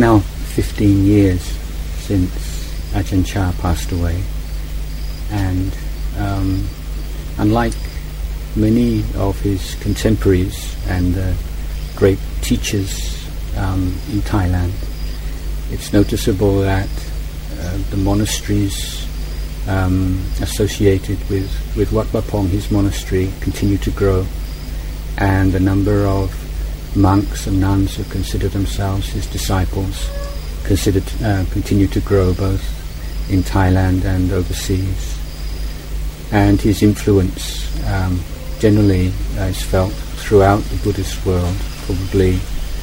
now 15 years since Ajahn Chah passed away, and unlike many of his contemporaries and great teachers in Thailand, it's noticeable that the monasteries associated with Wat Pah Pong, his monastery, continue to grow, and the number of monks and nuns who consider themselves his disciples continue to grow both in Thailand and overseas. And his influence generally is felt throughout the Buddhist world, probably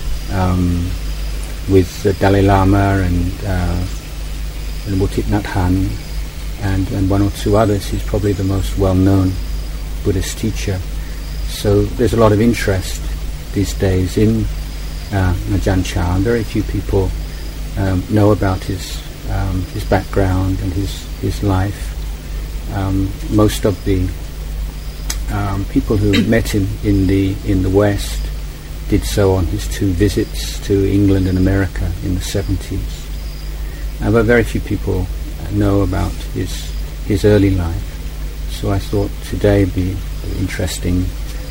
with the Dalai Lama and Thich Nhat Hanh and one or two others. He's probably the most well-known Buddhist teacher. So there's a lot of interest these days in Ajahn Chah. Very few people know about his background and his life. Most of the people who met him in the West did so on his 2 visits to England and America in the 70s. But very few people know about his early life. So I thought today would be interesting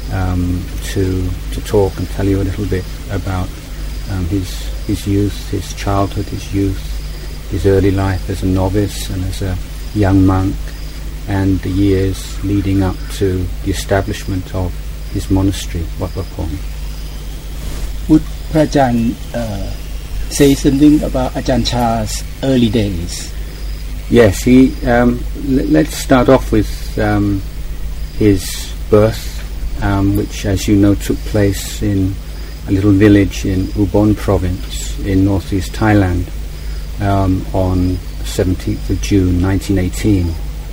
to talk and tell you a little bit about his youth, his childhood, his youth, his early life as a novice and as a young monk, and the years leading up to the establishment of his monastery, Wat Pah Pong. Would Prajan say something about Ajahn Chah's early days? Yes, let's start off with his birth, which, as you know, took place in a little village in Ubon province in northeast Thailand on 17th of June 1918.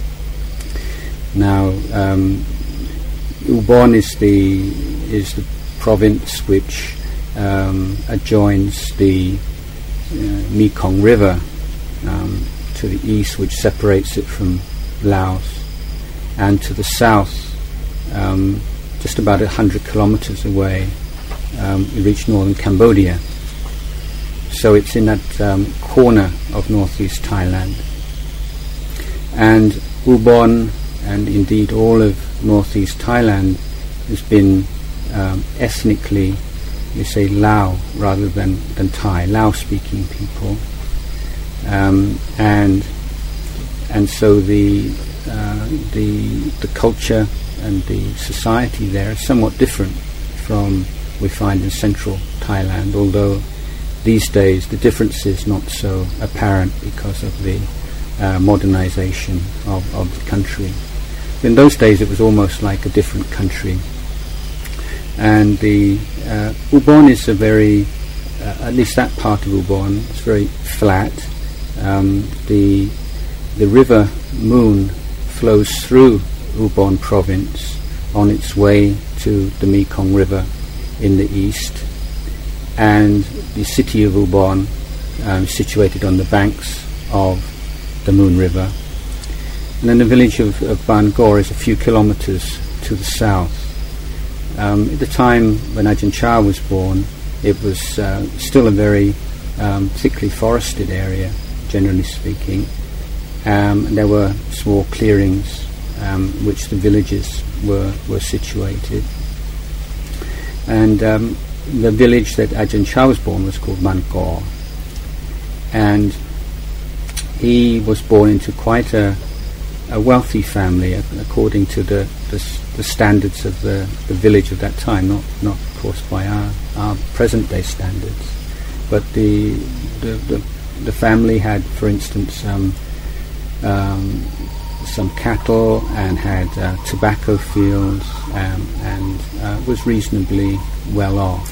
Now, Ubon is the province which adjoins the Mekong River to the east, which separates it from Laos, and to the south, just about 100 kilometers away, we reach northern Cambodia. So it's in that corner of northeast Thailand. And Ubon, and indeed all of northeast Thailand, has been ethnically, we say Lao rather than Thai, Lao-speaking people, and so the culture and the society there is somewhat different from we find in central Thailand, although these days the difference is not so apparent because of the modernization of the country. In those days it was almost like a different country. And the Ubon is a very, at least that part of Ubon, it's very flat. The river Moon flows through Ubon province on its way to the Mekong River in the east, and the city of Ubon situated on the banks of the Moon River. And then the village of Bangor is a few kilometers to the south. At the time when Ajahn Chah was born, it was still a very thickly forested area, generally speaking. There were small clearings which the villages were situated. And the village that Ajahn Chah was born was called Bangor. And he was born into quite a wealthy family, according to the standards of the village of that time, not of course by our present day standards. But the family had, for instance, some cattle and had tobacco fields, and was reasonably well off.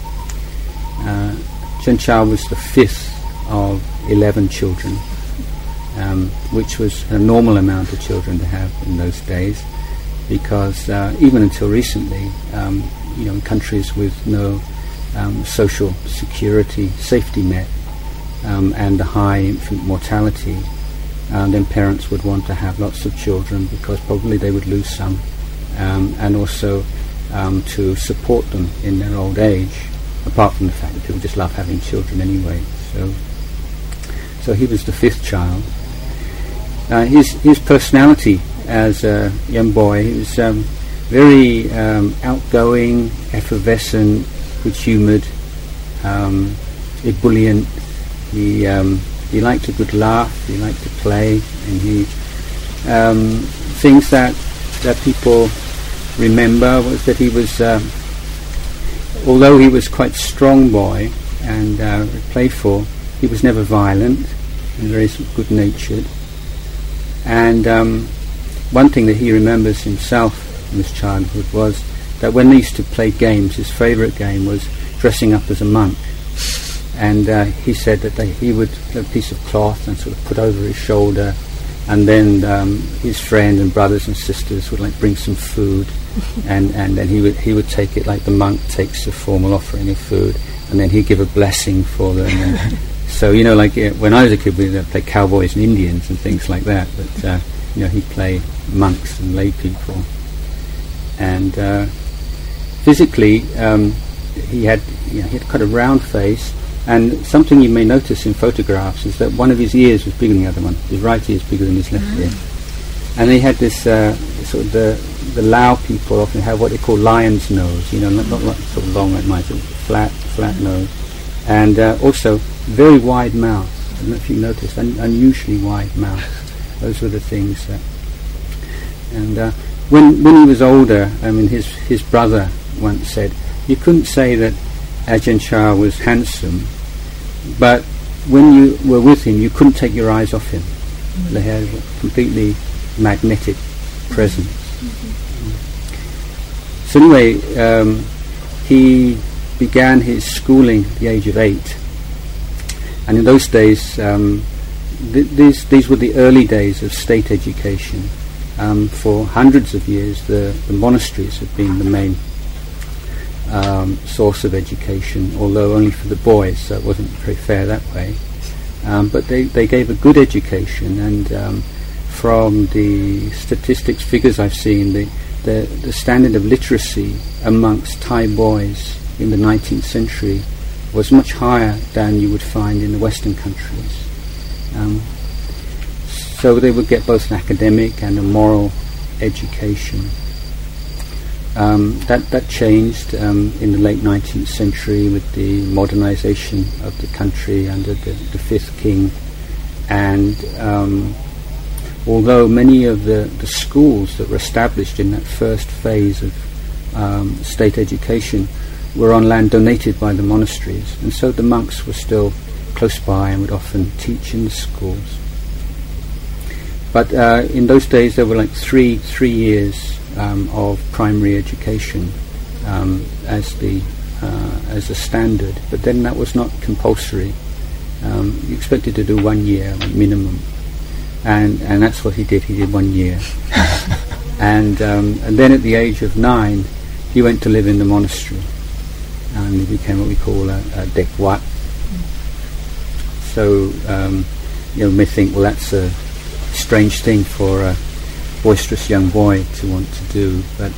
Ajahn Chah was the 5th of 11 children, which was a normal amount of children to have in those days, because even until recently, in countries with no social security safety net and a high infant mortality, then parents would want to have lots of children because probably they would lose some, and also to support them in their old age apart from the fact that people just love having children anyway. So he was the fifth child. His personality as a young boy, he was very outgoing, effervescent, good-humoured, ebullient. He liked a good laugh, he liked to play, and he things that people remember was that he was, although he was quite a strong boy and playful, he was never violent and very good-natured. And one thing that he remembers himself in his childhood was that when they used to play games, his favourite game was dressing up as a monk. And he said that he would have a piece of cloth and sort of put over his shoulder, and then his friend and brothers and sisters would like bring some food, and then he would take it like the monk takes a formal offering of food, and then he'd give a blessing for them. And so like when I was a kid, we'd play cowboys and Indians and things like that. But he'd play monks and lay people. And physically, he had quite a round face. And something you may notice in photographs is that one of his ears was bigger than the other one. His right ear is bigger than his left ear. And he had this sort of the Lao people often have what they call lion's nose. Not like sort of long like mine, sort of flat nose, and also very wide mouth. I don't know if you noticed, unusually wide mouth. Those were the things that. And when he was older, I mean, his brother once said, you couldn't say that Ajahn Chah was handsome, but when you were with him, you couldn't take your eyes off him. They had a completely magnetic presence. So anyway, he began his schooling at the age of 8. And in those days, these were the early days of state education. For hundreds of years, the monasteries have been the main source of education, although only for the boys, so it wasn't very fair that way. But they gave a good education, and from the statistics figures I've seen, the standard of literacy amongst Thai boys in the 19th century was much higher than you would find in the Western countries. So they would get both an academic and a moral education. That changed in the late 19th century with the modernization of the country under the fifth king. And although many of the schools that were established in that first phase of state education were on land donated by the monasteries, and so the monks were still close by and would often teach in the schools. But in those days there were like three years of primary education as a standard, but then that was not compulsory. You expected to do 1 year minimum, and that's what he did. He did 1 year, and then at the age of 9, he went to live in the monastery, and he became what we call a Dek Wat. So you may think, well, that's a strange thing for a boisterous young boy to want to do, but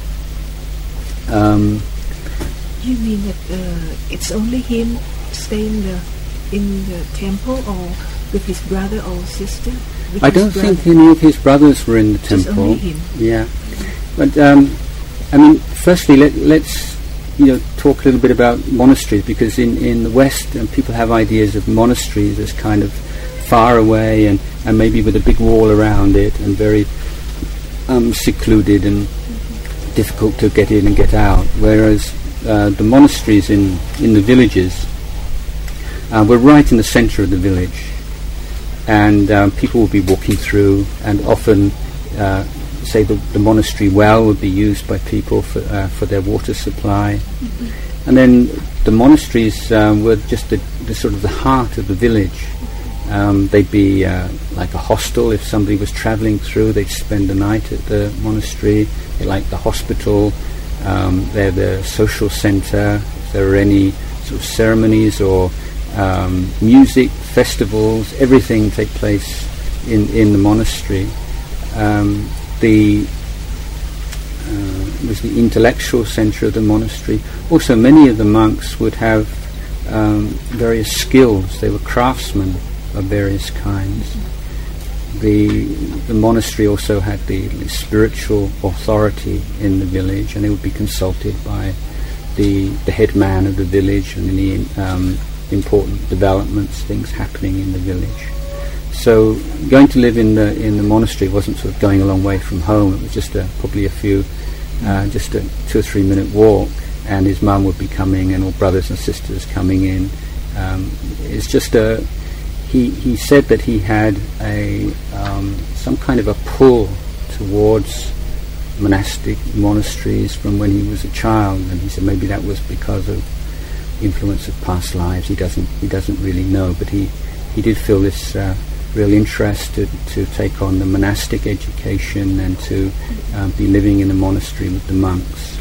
you mean that it's only him staying in the temple, or with his brother or sister? I don't think any of his brothers were in the temple. Just only him. Yeah, but I mean, firstly, let's talk a little bit about monasteries, because in the West, people have ideas of monasteries as kind of far away and maybe with a big wall around it and very secluded and difficult to get in and get out, whereas the monasteries in the villages were right in the centre of the village, and people would be walking through, and often say the monastery well would be used by people for their water supply. And then the monasteries were just the sort of the heart of the village. They'd be like a hostel. If somebody was travelling through, they'd spend the night at the monastery. They're like the hospital. They're the social centre. If there were any sort of ceremonies or music, festivals, everything take place in the monastery. was the intellectual center of the monastery. Also, many of the monks would have various skills. They were craftsmen of various kinds. The monastery also had the spiritual authority in the village, and they would be consulted by the head man of the village and any important developments, things happening in the village. So going to live in the monastery wasn't sort of going a long way from home. It was just probably just a 2 or 3 minute walk, and his mum would be coming, and all brothers and sisters coming in. It's just he said that he had some kind of a pull towards monastic monasteries from when he was a child, and he said maybe that was because of influence of past lives. He doesn't really know, but he did feel this real interest to take on the monastic education and to be living in a monastery with the monks.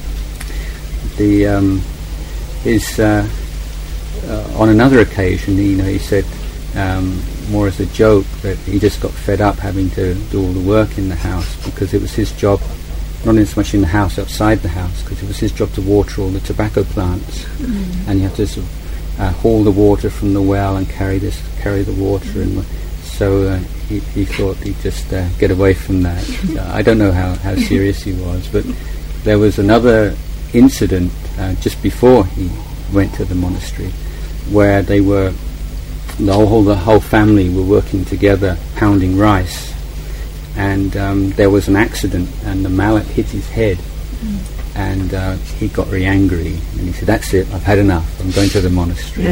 On another occasion, he said, more as a joke, that he just got fed up having to do all the work in the house, because it was his job, not as much in the house, outside the house, because it was his job to water all the tobacco plants, and you have to sort of haul the water from the well and carry the water, and so he thought he'd just get away from that. I don't know how serious he was, but there was another incident just before he went to the monastery, where the whole family were working together pounding rice, and there was an accident, and the mallet hit his head, and he got very angry, and he said, "That's it, I've had enough, I'm going to the monastery."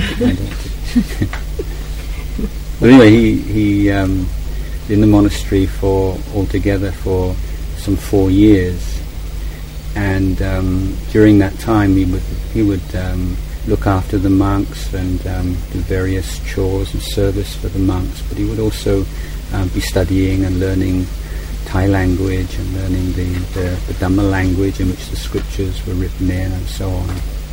But anyway, he in the monastery altogether for some 4 years, and during that time he would look after the monks and do various chores and service for the monks, but he would also be studying and learning Thai language and learning the Dhamma language in which the scriptures were written in, and so on.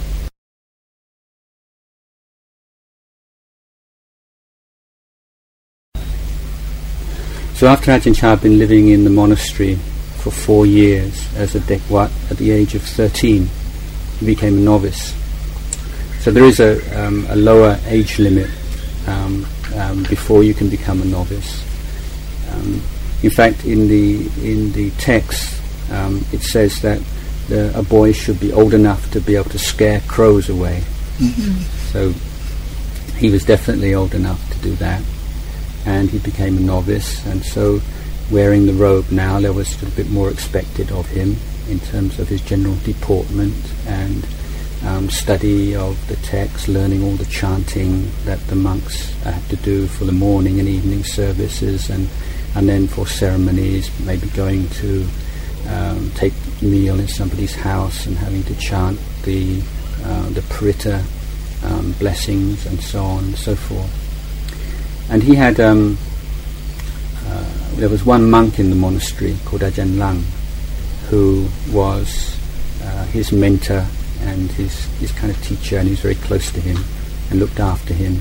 So after Ajahn Chah had been living in the monastery for 4 years as a Dekwat, at the age of 13 he became a novice. So there is a lower age limit before you can become a novice. In fact, in the text, it says that a boy should be old enough to be able to scare crows away. So he was definitely old enough to do that, and he became a novice. And so, wearing the robe now, there was a bit more expected of him in terms of his general deportment and study of the text, learning all the chanting that the monks had to do for the morning and evening services, and then for ceremonies, maybe going to take meal in somebody's house and having to chant the Paritta blessings and so on and so forth. And he had there was one monk in the monastery called Ajahn Lang, who was his mentor and his kind of teacher, and he was very close to him and looked after him.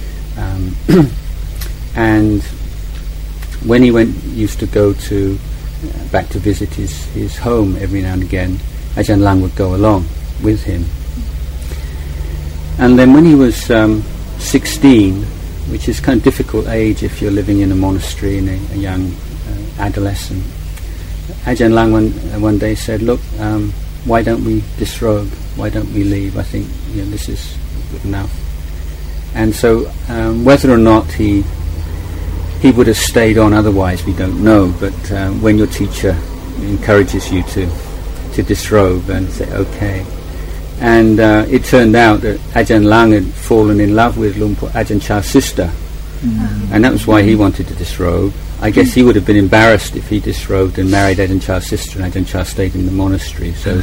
And when he used to go back to visit his home every now and again, Ajahn Lang would go along with him. And then when he was 16, which is kind of difficult age if you're living in a monastery in a young adolescent, Ajahn Lang one day said, "Look, why don't we disrobe? Why don't we leave? I think this is good enough." And so whether or not he would have stayed on otherwise, we don't know, but when your teacher encourages you to disrobe and say okay. And it turned out that Ajahn Lang had fallen in love with Lumpur Ajahn Chah's sister, and that was why he wanted to disrobe. I guess he would have been embarrassed if he disrobed and married Ajahn Chah's sister, and Ajahn Chah stayed in the monastery. So,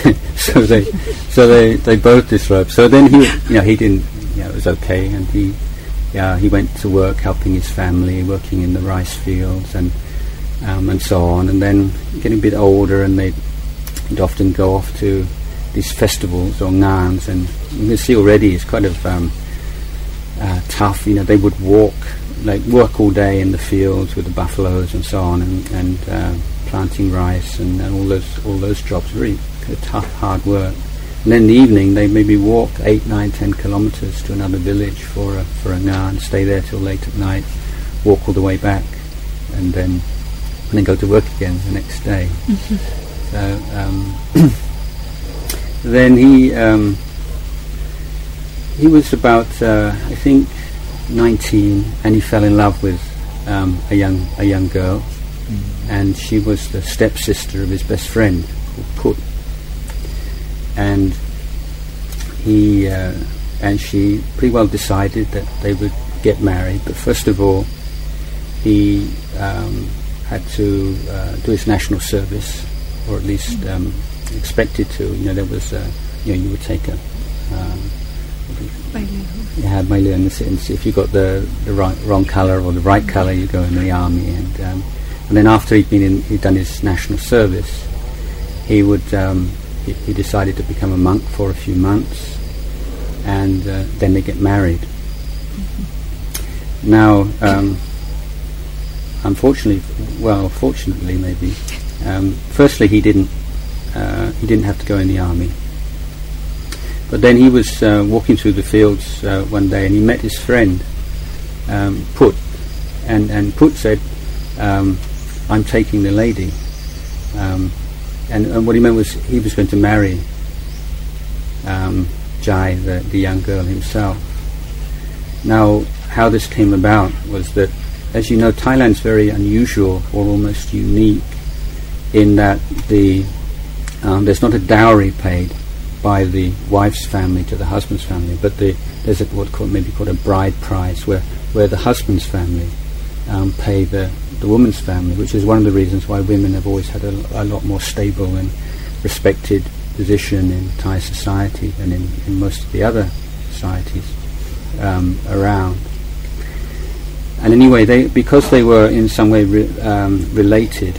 they both disrobed. So then he didn't. It was okay, and he went to work helping his family, working in the rice fields and so on. And then getting a bit older, and they'd often go off to these festivals or ngans, and you can see already it's kind of tough. They would work all day in the fields with the buffaloes and so on, and planting rice and all those jobs, really tough, hard work. And then in the evening they maybe walk 8, 9, 10 kilometers to another village for a ngan, stay there till late at night, walk all the way back, and then go to work again the next day. So then he was about I think 19, and he fell in love with a young girl, and she was the stepsister of his best friend, Put. And he and she pretty well decided that they would get married. But first of all, he had to do his national service, or at least expected to. There was you would take a Mai Leung, in the sense if you got the wrong colour or the right colour, you go in the army, and then after he'd done his national service, he would he decided to become a monk for a few months, and then they get married. Now, fortunately maybe, firstly he didn't have to go in the army. But then he was walking through the fields one day, and he met his friend Put, and Put said, "I'm taking the lady," and what he meant was he was going to marry Jai, the young girl himself. Now, how this came about was that, as you know, Thailand's very unusual or almost unique in that there's not a dowry paid by the wife's family to the husband's family, but there's maybe called a bride price, where the husband's family pay the woman's family, which is one of the reasons why women have always had a lot more stable and respected position in Thai society than in most of the other societies around. And anyway, because they were in some way related,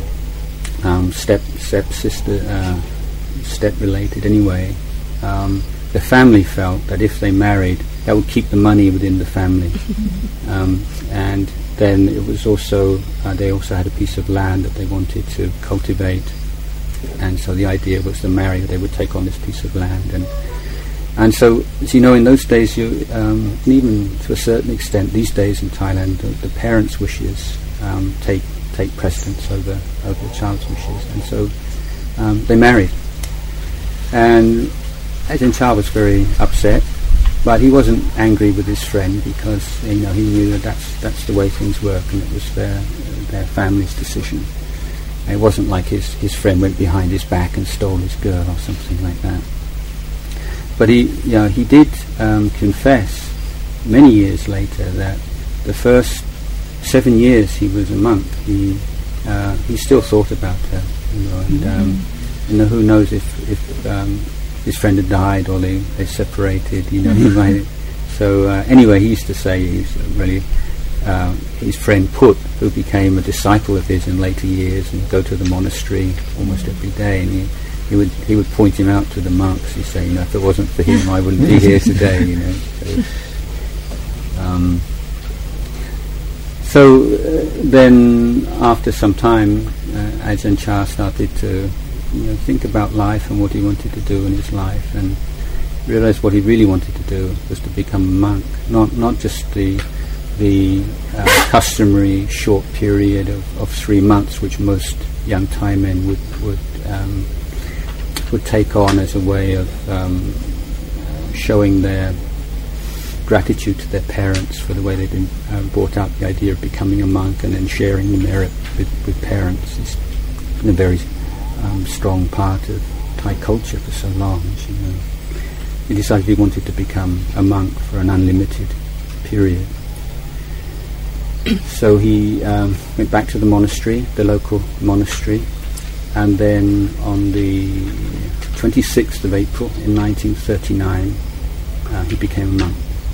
step related anyway, the family felt that if they married, that would keep the money within the family. And then it was also, they also had a piece of land that they wanted to cultivate, and so the idea was to marry, they would take on this piece of land. And so, as you know, in those days, and even to a certain extent these days in Thailand, the parents' wishes take precedence over the child's wishes. And so they married. And Ajahn Chah was very upset, but he wasn't angry with his friend, because he knew that's the way things work, and it was their family's decision. And it wasn't like his friend went behind his back and stole his girl or something like that. But he did confess many years later that the first 7 years he was a monk, he still thought about her, and who knows if his friend had died or they separated, he might. So anyway, he used to say he's really his friend Put, who became a disciple of his in later years, and go to the monastery almost every day, and he would point him out to the monks. He'd say, if it wasn't for him, I wouldn't be here today. So then, after some time, Ajahn Chah started to think about life and what he wanted to do in his life, and realized what he really wanted to do was to become a monk, not just the customary short period of 3 months, which most young Thai men would take on as a way of showing their gratitude to their parents for the way they've been brought up. The idea of becoming a monk and then sharing the merit with parents is a very strong part of Thai culture for so long. He decided he wanted to become a monk for an unlimited period. So he went back to the monastery, the local monastery, and then on the 26th of April in 1939 he became a monk.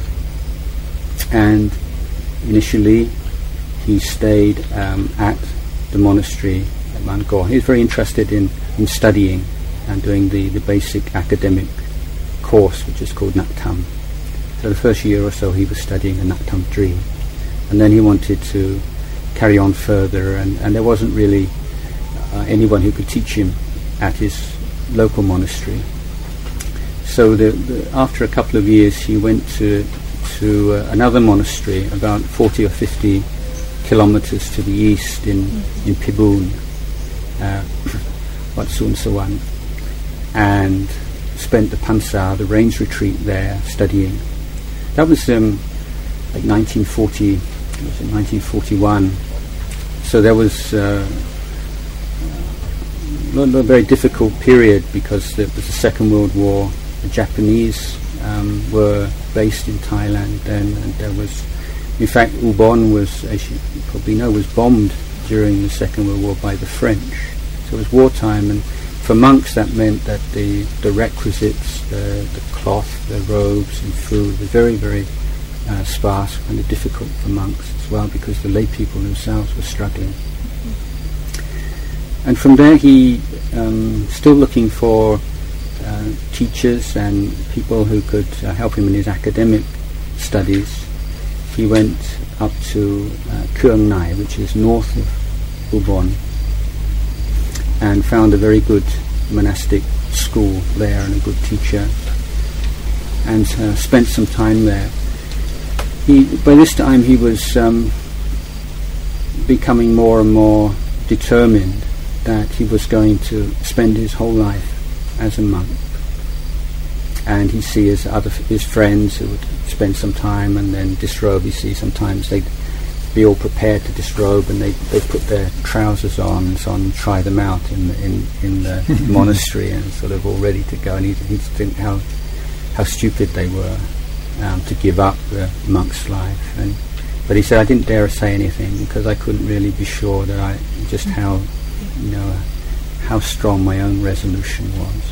And initially he stayed at the monastery at Mangor. He was very interested in studying and doing the basic academic course, which is called Nak Tham. So the first year or so he was studying the Nak Tham tree, and then he wanted to carry on further, and there wasn't really anyone who could teach him at his local monastery. So after a couple of years, he went to another monastery about 40 or 50 kilometers to the east in Pibun, Wat Suan Sawan, and spent the Pansa, the rains retreat there, studying. That was like 1941. So there was a very difficult period because there was the Second World War. The Japanese were based in Thailand then, and there was, in fact, Ubon was, as you probably know, was bombed during the Second World War by the French. So it was wartime, and for monks that meant that the requisites, the cloth, the robes and food were very, very sparse, kind of difficult for monks as well, because the lay people themselves were struggling. And from there he, still looking for teachers and people who could help him in his academic studies, he went up to Kuang Nai, which is north of Ubon, and found a very good monastic school there and a good teacher, and spent some time there. By this time he was becoming more and more determined that he was going to spend his whole life as a monk. And he'd see his friends who would spend some time and then disrobe. You see, sometimes they'd be all prepared to disrobe, and they'd put their trousers on and so on, and try them out in the monastery, and sort of all ready to go. And he'd think how stupid they were to give up the monk's life. But he said, I didn't dare say anything because I couldn't really be sure that how strong my own resolution was.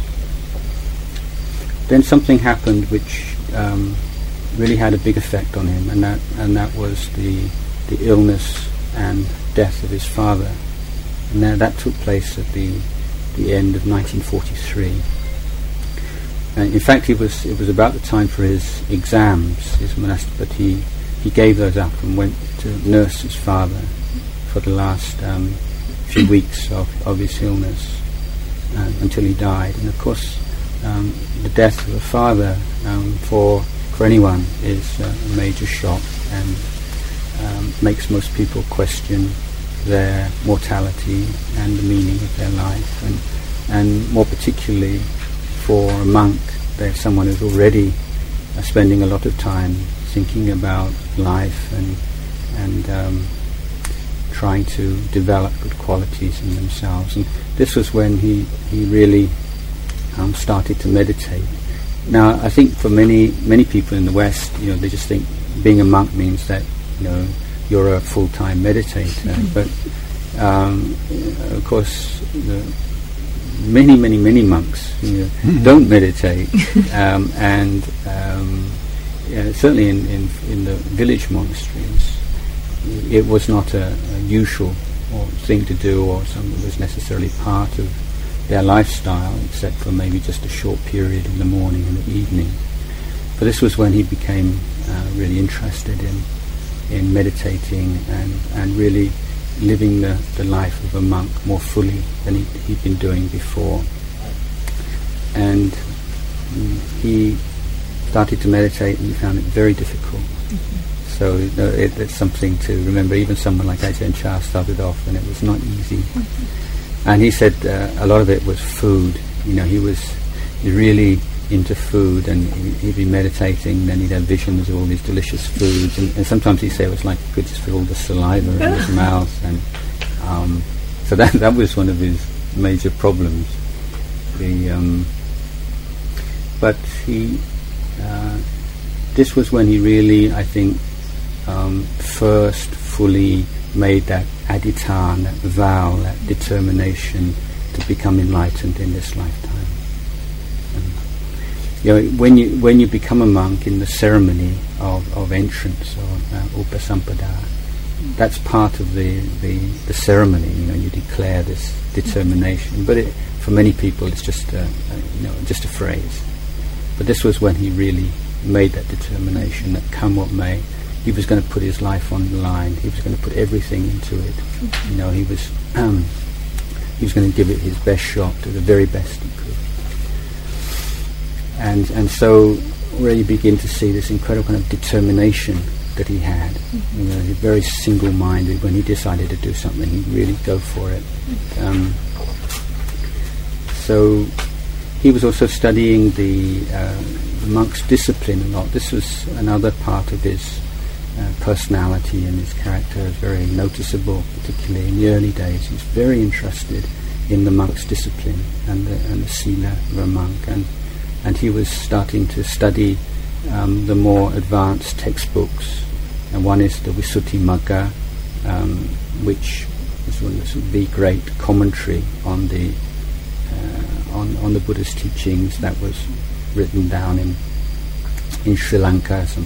Then something happened which really had a big effect on him, and that was the illness and death of his father. And that took place at the end of 1943. In fact, it was about the time for his exams, his monastic, but he gave those up and went to nurse his father for the last few weeks of his illness until he died. And of course, the death of a father for anyone is a major shock, and makes most people question their mortality and the meaning of their life, and more particularly for a monk, they're someone who's already spending a lot of time thinking about life and trying to develop good qualities in themselves. And this was when he really started to meditate. Now, I think for many people in the West, they just think being a monk means that you're a full-time meditator. But of course, many monks don't meditate, and certainly in the village monasteries, it was not a usual thing to do, or something that was necessarily part of their lifestyle, except for maybe just a short period in the morning and the evening. But this was when he became really interested in meditating and really living the life of a monk more fully than he'd been doing before. And he started to meditate, and he found it very difficult. So it's something to remember. Even someone like Ajahn Chah started off, and it was not easy. And he said a lot of it was food. He was really into food, and he'd be meditating, and then he'd have visions of all these delicious foods, and sometimes he'd say it was like he could just feel the saliva in his mouth, and so that was one of his major problems. But this was when he really, I think, first fully made that adhitthana, that vow, that determination to become enlightened in this lifetime. When you become a monk in the ceremony of entrance, or upasampada, that's part of the ceremony. You declare this determination. But for many people, it's just a phrase. But this was when he really made that determination that come what may, he was going to put his life on the line. He was going to put everything into it. He was he was going to give it his best shot, to the very best he could. And so where you begin to see this incredible kind of determination that he had. You know, he's very single-minded. When he decided to do something, he'd really go for it. So he was also studying the monk's discipline a lot. This was another part of his personality and his character is very noticeable, particularly in the early days. He was very interested in the monk's discipline and the sila of a monk. And he was starting to study the more advanced textbooks, and one is the Visuddhimagga, which is the great commentary on the Buddha's teachings that was written down in Sri Lanka some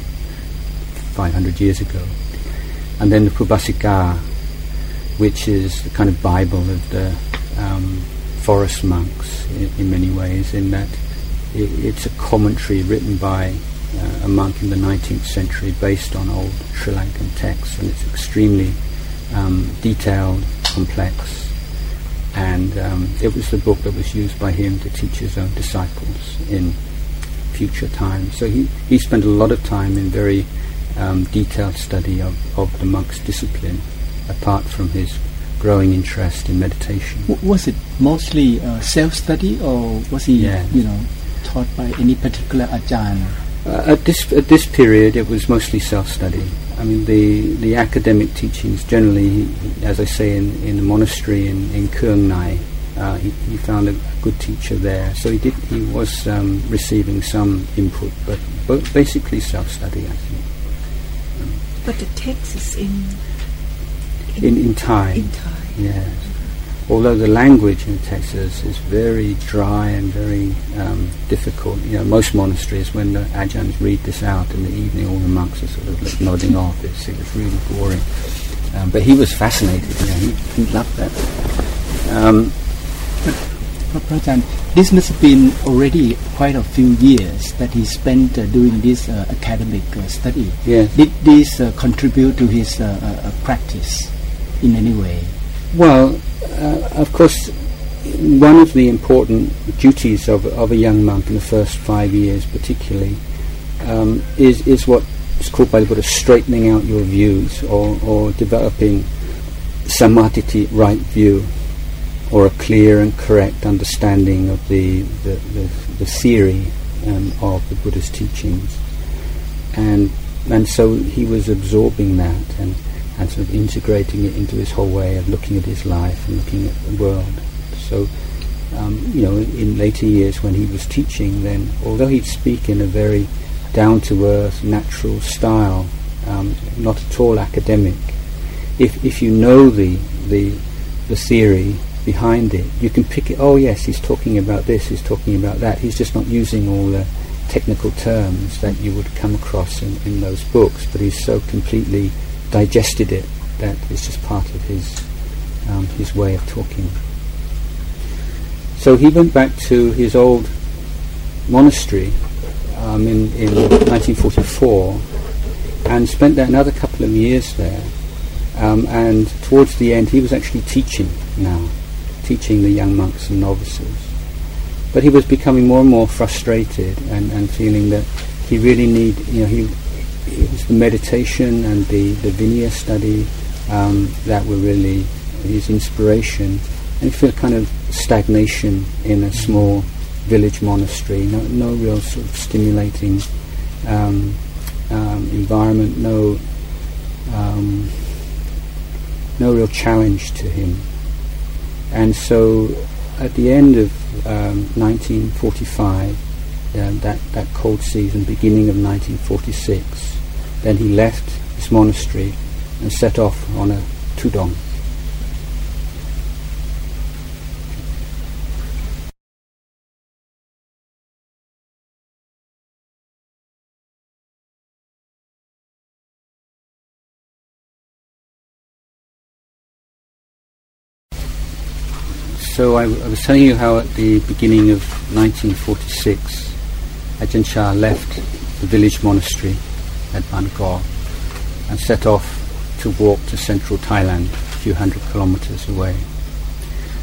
1,500 years ago. And then the Pubbasika, which is the kind of Bible of the forest monks in many ways, in that it's a commentary written by a monk in the 19th century based on old Sri Lankan texts, and it's extremely detailed, complex, and it was the book that was used by him to teach his own disciples in future times. So he spent a lot of time in very detailed study of the monk's discipline, apart from his growing interest in meditation. Was it mostly self-study, or was he, taught by any particular ajahn? At this period, it was mostly self-study. I mean, the academic teachings generally, as I say, in the monastery in Kuang Nai, he found a good teacher there. So he was receiving some input, but basically self-study, I think. But the text is in Thai. In Thai. Yes. Although the language in Texas is very dry and very difficult. You know, most monasteries, when the ajahns read this out in the evening, all the monks are sort of like nodding off. It was really boring. But he was fascinated. He loved that. Prajahn, this must have been already quite a few years that he spent doing this academic study. Yes. Did this contribute to his practice in any way? Well, of course, one of the important duties of a young monk in the first 5 years particularly is what is called by the Buddha straightening out your views, or developing samadhi, right view, or a clear and correct understanding of the theory of the Buddha's teachings. And so he was absorbing that and sort of integrating it into his whole way of looking at his life and looking at the world. So, in later years when he was teaching, then, although he'd speak in a very down-to-earth, natural style, not at all academic, if you know the theory behind it, you can pick it. Oh yes, he's talking about this, he's talking about that. He's just not using all the technical terms that you would come across in those books, but he's so completely digested it that it's just part of his way of talking. So he went back to his old monastery in 1944 and spent there another couple of years there, and towards the end he was actually teaching the young monks and novices. But he was becoming more and more frustrated and feeling that he really it was the meditation and the Vinaya study that were really his inspiration, and he felt kind of stagnation in a small village monastery, no real sort of stimulating environment, no real challenge to him. And so at the end of 1945, that cold season, beginning of 1946, then he left his monastery and set off on a tudong. So I was telling you how at the beginning of 1946, Ajahn Chah left the village monastery at Bangkok and set off to walk to central Thailand, a few hundred kilometers away.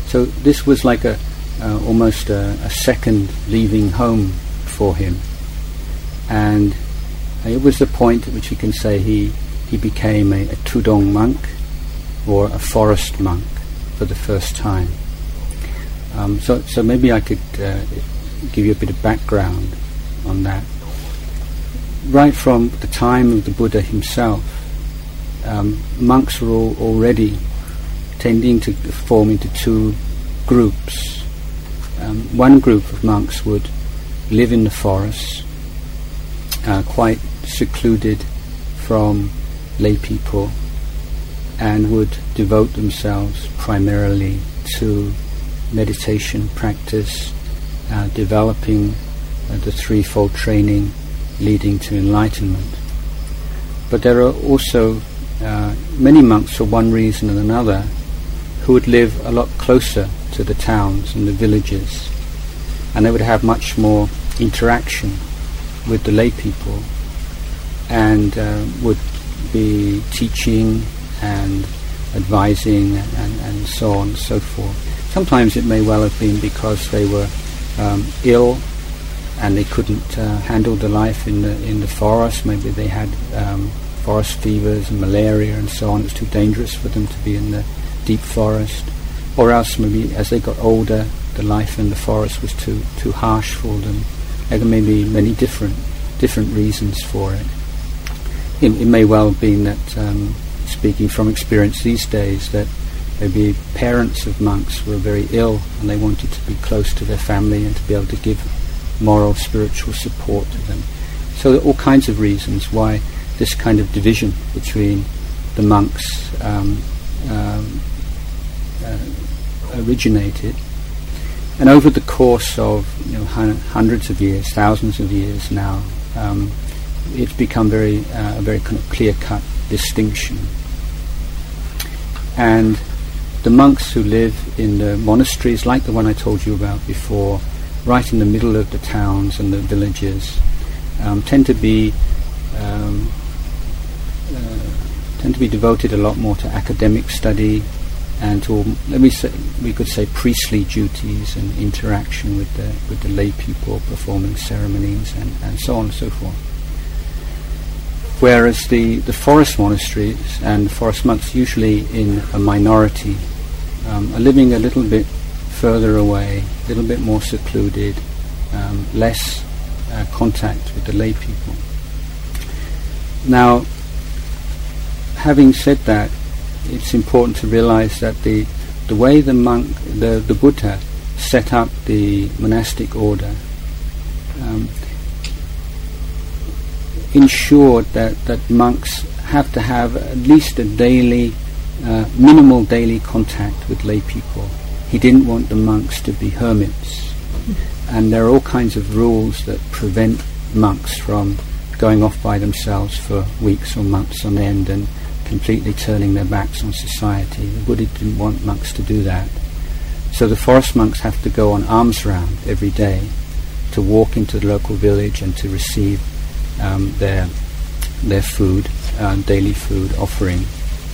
So this was like almost a second leaving home for him, and it was the point at which you can say he became a Tudong monk, or a forest monk, for the first time. So maybe I could give you a bit of background on that. Right from the time of the Buddha himself, monks were already tending to form into two groups. One group of monks would live in the forests, quite secluded from lay people, and would devote themselves primarily to meditation practice, developing the threefold training leading to enlightenment. But there are also many monks, for one reason or another, who would live a lot closer to the towns and the villages, and they would have much more interaction with the lay people, and would be teaching and advising and so on and so forth. Sometimes it may well have been because they were ill and they couldn't handle the life in the forest. Maybe they had forest fevers and malaria and so on. It was too dangerous for them to be in the deep forest. Or else maybe as they got older, the life in the forest was too harsh for them. There may be many different reasons for it. It may well have been that, speaking from experience these days, that maybe parents of monks were very ill and they wanted to be close to their family and to be able to give moral, spiritual support to them. So there are all kinds of reasons why this kind of division between the monks originated. And over the course of hundreds of years, thousands of years now, it's become a very kind of clear-cut distinction. And the monks who live in the monasteries, like the one I told you about before, right in the middle of the towns and the villages, tend to be devoted a lot more to academic study and to, we could say, priestly duties and interaction with the lay people, performing ceremonies and so on and so forth. Whereas the forest monasteries and forest monks, usually in a minority, are living a little bit further away, a little bit more secluded, less contact with the lay people. Now, having said that, it's important to realize that the way the Buddha set up the monastic order ensured that monks have to have at least a daily, minimal daily contact with lay people. He didn't want the monks to be hermits. And there are all kinds of rules that prevent monks from going off by themselves for weeks or months on end and completely turning their backs on society. The Buddha didn't want monks to do that. So the forest monks have to go on alms round every day to walk into the local village and to receive their food, daily food offering.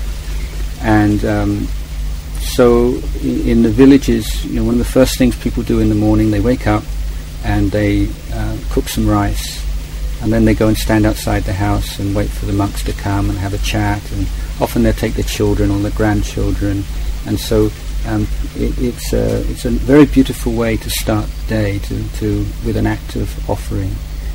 And so in the villages, one of the first things people do in the morning, they wake up and they cook some rice, and then they go and stand outside the house and wait for the monks to come and have a chat, and often they take their children or their grandchildren, and so it's a very beautiful way to start the day with an act of offering.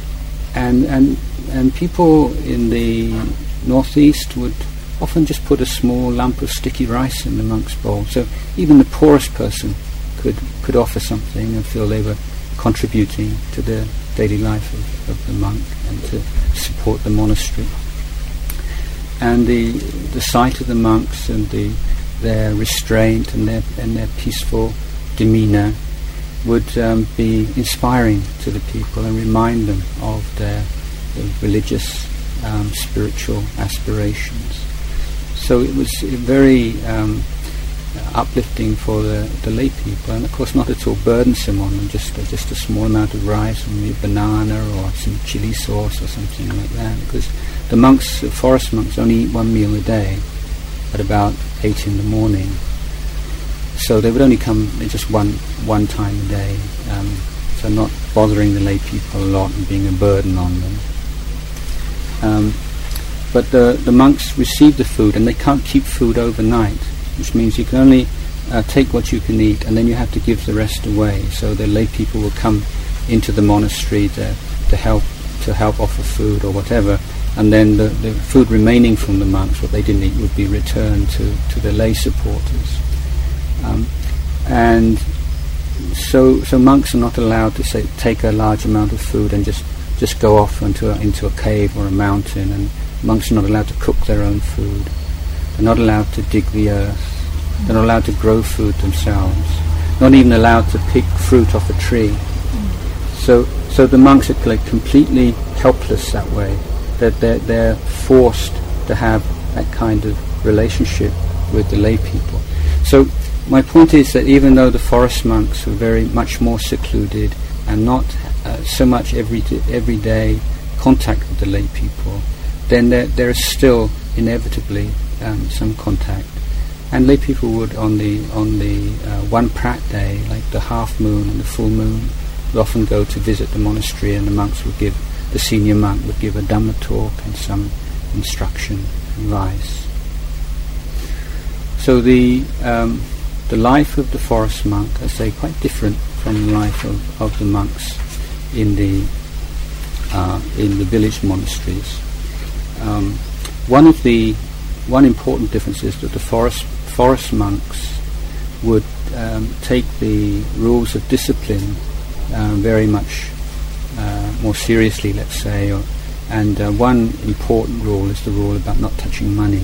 And people in the northeast would often just put a small lump of sticky rice in the monk's bowl. So even the poorest person could offer something and feel they were contributing to the daily life of the monk and to support the monastery. And the sight of the monks and their restraint and their peaceful demeanour would be inspiring to the people and remind them of their religious, spiritual aspirations. So it was very uplifting for the lay people, and of course not at all burdensome on them, just a small amount of rice, or maybe a banana or some chili sauce or something like that, because the forest monks only eat one meal a day at about 8 in the morning. So they would only come just one time a day, so not bothering the lay people a lot and being a burden on them. But the monks receive the food, and they can't keep food overnight, which means you can only take what you can eat, and then you have to give the rest away. So the lay people will come into the monastery to help offer food or whatever, and then the food remaining from the monks, what they didn't eat, would be returned to the lay supporters. And so monks are not allowed to take a large amount of food and just go off into a cave or a mountain, and monks are not allowed to cook their own food. They're not allowed to dig the earth. They're not allowed to grow food themselves. Not even allowed to pick fruit off a tree. So the monks are like completely helpless that way. That they're forced to have that kind of relationship with the lay people. So my point is that even though the forest monks were very much more secluded and not so much everyday contact with the lay people, then there is still inevitably some contact. And lay people would on the one prat day, like the half moon and the full moon, would often go to visit the monastery, and the senior monk would give a Dhamma talk and some instruction, advice. So the life of the forest monk, I say, quite different from the life of the monks in the village monasteries. One important difference is that the forest monks would take the rules of discipline very much more seriously, let's say, and one important rule is the rule about not touching money,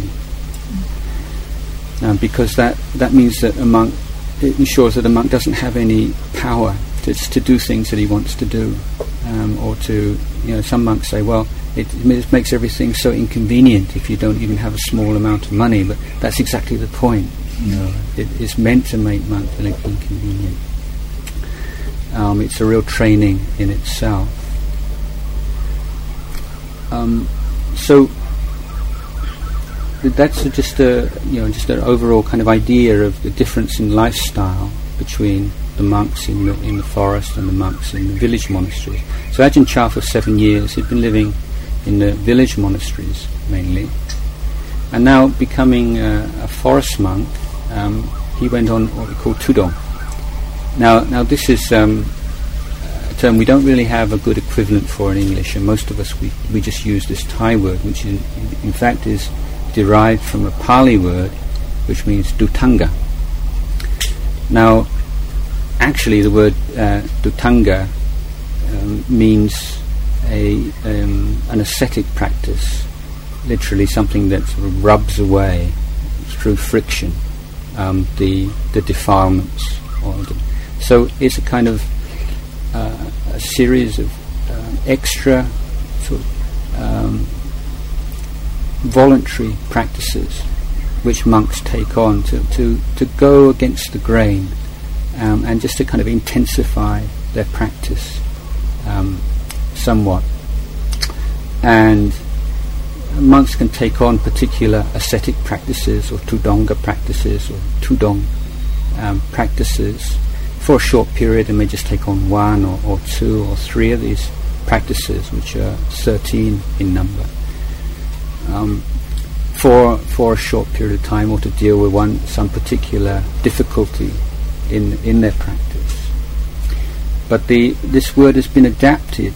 because that means that it ensures that a monk doesn't have any power to do things that he wants to do, or to, some monks say, well, it makes everything so inconvenient if you don't even have a small amount of money, but that's exactly the point. It is meant to make monks feel inconvenient. It's a real training in itself. So that's just an overall kind of idea of the difference in lifestyle between the monks in the forest and the monks in the village monasteries. So Ajahn Chah, for 7 years, he'd been living in the village monasteries mainly, and now becoming a forest monk, he went on what we call Tudong. Now this is a term we don't really have a good equivalent for in English, and most of us we just use this Thai word, which in fact is derived from a Pali word which means Dutanga. Now actually the word Dutanga means an ascetic practice, literally something that sort of rubs away through friction the defilements. So it's a kind of a series of extra sort of voluntary practices which monks take on to go against the grain, and just to kind of intensify their practice somewhat. And monks can take on particular ascetic practices or Tudonga practices or Tudong practices for a short period, and may just take on 1 or 2 or 3 of these practices, which are 13 in number, for a short period of time, or to deal with some particular difficulty in their practice. But this word has been adapted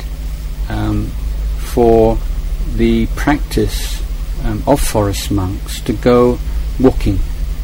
for the practice of forest monks to go walking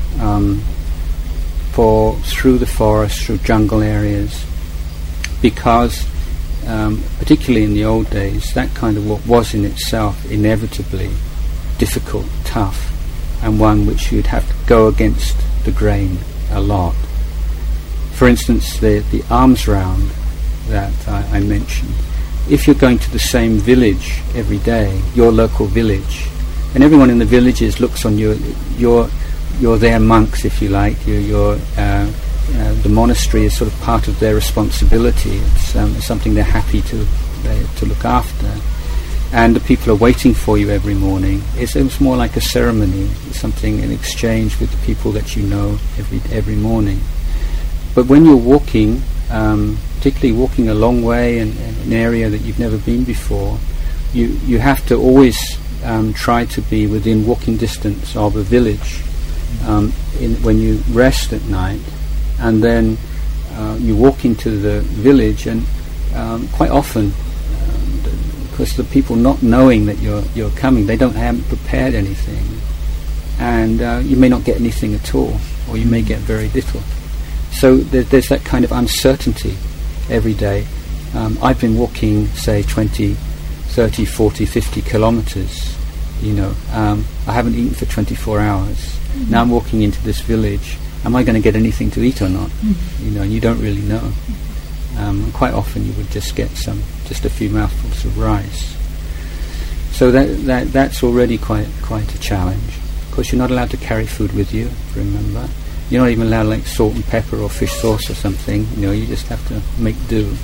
through the forest, through jungle areas, because particularly in the old days, that kind of walk was in itself inevitably difficult, tough, and one which you'd have to go against the grain a lot. For instance, the alms round that I mentioned, if you're going to the same village every day, your local village, and everyone in the villages looks on you, you're their monks, if you like. The monastery is sort of part of their responsibility. It's something they're happy to look after. and the people are waiting for you every morning. It's more like a ceremony, something in exchange with the people that you know every morning. But when you're walking, particularly walking a long way in an area that you've never been before, you have to always try to be within walking distance of a village when you rest at night, and then you walk into the village, and quite often, because the people not knowing that you're coming, they haven't prepared anything, and you may not get anything at all, or you may get very little. So there's that kind of uncertainty every day. I've been walking, say, 20, 30, 40, 50 kilometers, I haven't eaten for 24 hours. Mm-hmm. Now I'm walking into this village. Am I going to get anything to eat or not? Mm-hmm. And you don't really know. Quite often you would just get just a few mouthfuls of rice. So that's already quite a challenge. Of course, you're not allowed to carry food with you, remember. You're not even allowed like salt and pepper or fish sauce or something. You just have to make do.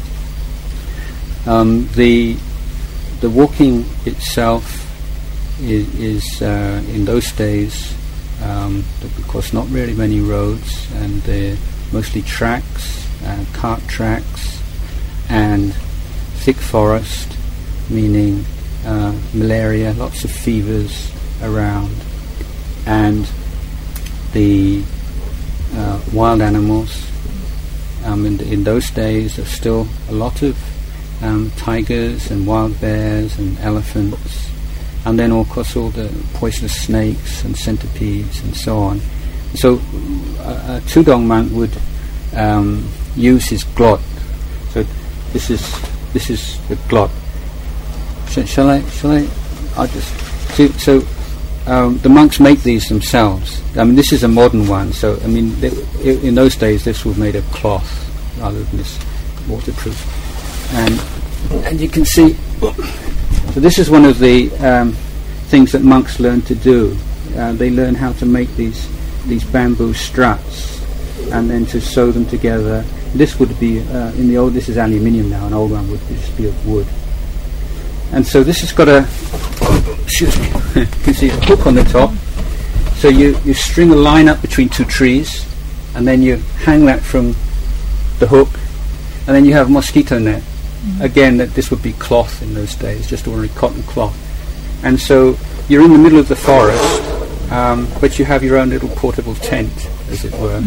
The walking itself is in those days, of course, not really many roads, and they're mostly tracks, cart tracks, and thick forest, meaning malaria, lots of fevers around, and the wild animals. In those days, there's still a lot of tigers and wild bears and elephants, and then of course all the poisonous snakes and centipedes and so on. So a Tudong monk would use his glot. So this is the glot. Shall I? I'll just. So the monks make these themselves. This is a modern one. So in those days this was made of cloth rather than this waterproof. And you can see. So this is one of the things that monks learn to do. They learn how to make these bamboo struts, and then to sew them together. This would be in the old. This is aluminium now. An old one would just be of wood. And so this has got excuse me. You can see a hook on the top. So you string a line up between two trees, and then you hang that from the hook, and then you have a mosquito net. Again, this would be cloth in those days, just ordinary cotton cloth. And so you're in the middle of the forest, but you have your own little portable tent, as it were.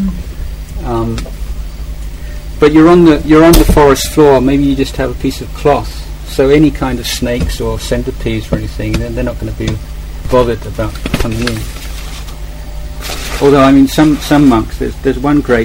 But you're on the forest floor. Maybe you just have a piece of cloth. So any kind of snakes or centipedes or anything, they're not going to be bothered about coming in. Although some monks, there's one great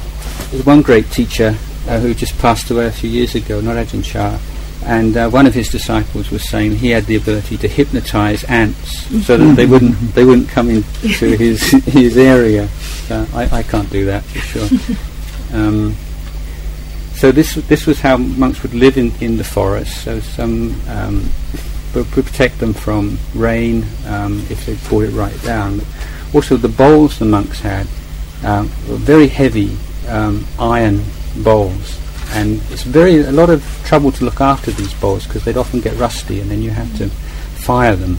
teacher who just passed away a few years ago, Norajin Chah, and one of his disciples was saying he had the ability to hypnotize ants so that they wouldn't come into his area. I can't do that for sure. So this was how monks would live in the forest. So some would protect them from rain if they poured it right down. But also the bowls the monks had were very heavy iron bowls, and it's a lot of trouble to look after these bowls because they'd often get rusty, and then you have to fire them.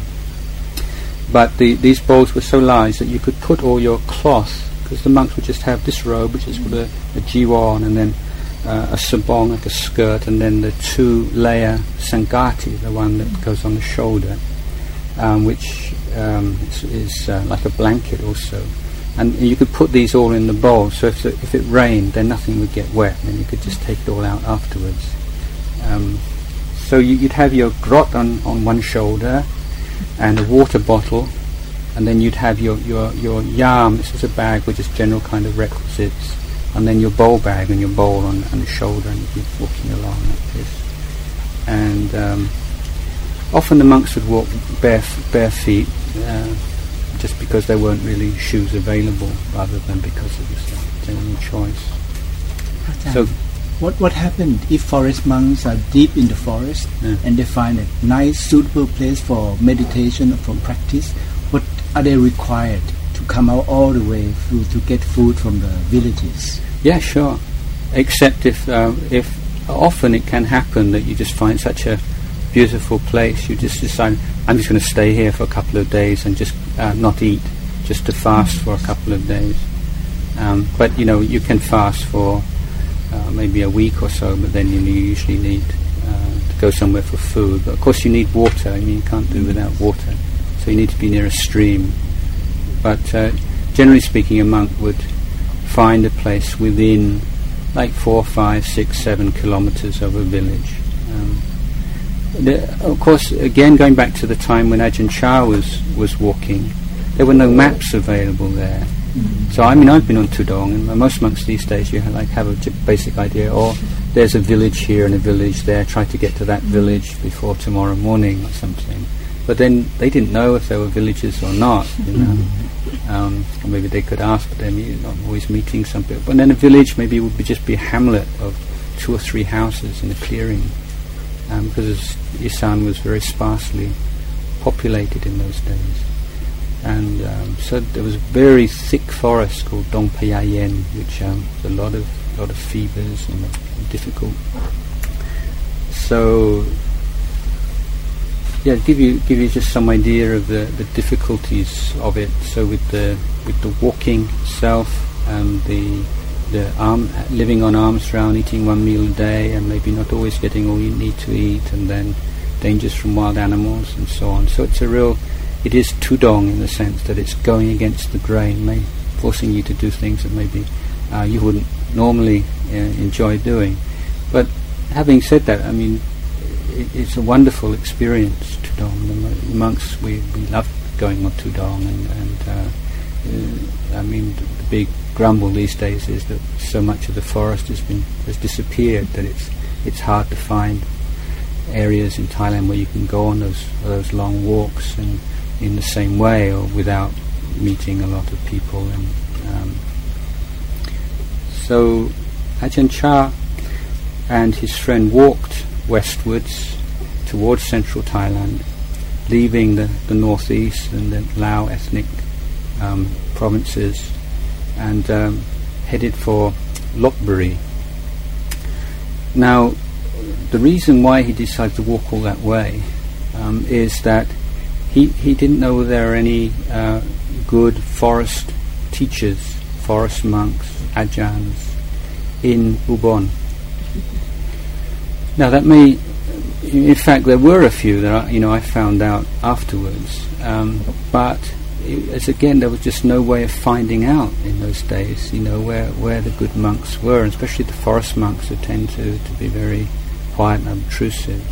But these bowls were so large that you could put all your cloth, because the monks would just have this robe, which is called a jiwon, and then a sabong, like a skirt, and then the 2-layer sangati, the one that goes on the shoulder, which is like a blanket also. And you could put these all in the bowl, so if it rained, then nothing would get wet, and you could just take it all out afterwards. So you'd have your grot on one shoulder, and a water bottle, and then you'd have your yam. This is a bag with just general kind of requisites, and then your bowl bag and your bowl on the shoulder, and you'd be walking along like this. And often the monks would walk bare feet, just because there weren't really shoes available, rather than because it was their own choice. So, what happened if forest monks are deep in the forest and they find a nice, suitable place for meditation or for practice? What are they required to come out all the way through to get food from the villages? Yeah, sure. Except if often it can happen that you just find such a beautiful place, you just decide, I'm just going to stay here for a couple of days and just not eat, just to fast for a couple of days. But you can fast for maybe a week or so, but then you usually need to go somewhere for food. But of course you need water. You can't do without water, so you need to be near a stream. But generally speaking, a monk would find a place within like 4, 5, 6, 7 kilometers of a village. Of course, again, going back to the time when Ajahn Chah was walking, there were no maps available there. So I've been on Tudong, and most monks these days you have a basic idea, or there's a village here and a village there, try to get to that village before tomorrow morning or something. But then they didn't know if there were villages or not, or maybe they could ask, but they're not always meeting some people. But then a village maybe would just be a hamlet of 2 or 3 houses in a clearing, because Isan was very sparsely populated in those days. And so there was a very thick forest called Dong Payayen, which was a lot of fevers and difficult. So give you just some idea of the difficulties of it. So with the walking itself, the living on alms round, eating 1 meal a day, and maybe not always getting all you need to eat, and then dangers from wild animals and so on. So it is Tudong in the sense that it's going against the grain, forcing you to do things that maybe you wouldn't normally enjoy doing. But having said that, it's a wonderful experience, Tudong. The monks, we love going on Tudong, and the big grumble these days is that so much of the forest has disappeared that it's hard to find areas in Thailand where you can go on those long walks and in the same way or without meeting a lot of people. And so Ajahn Chah and his friend walked westwards towards central Thailand, leaving the northeast and the Lao ethnic provinces, and headed for Lopburi. Now, the reason why he decided to walk all that way is that he didn't know there are any good forest teachers, forest monks, ajahns in Ubon. Now that may, in fact, there were a few that I found out afterwards, but there was just no way of finding out in those days, where the good monks were, and especially the forest monks who tend to be very quiet and obtrusive.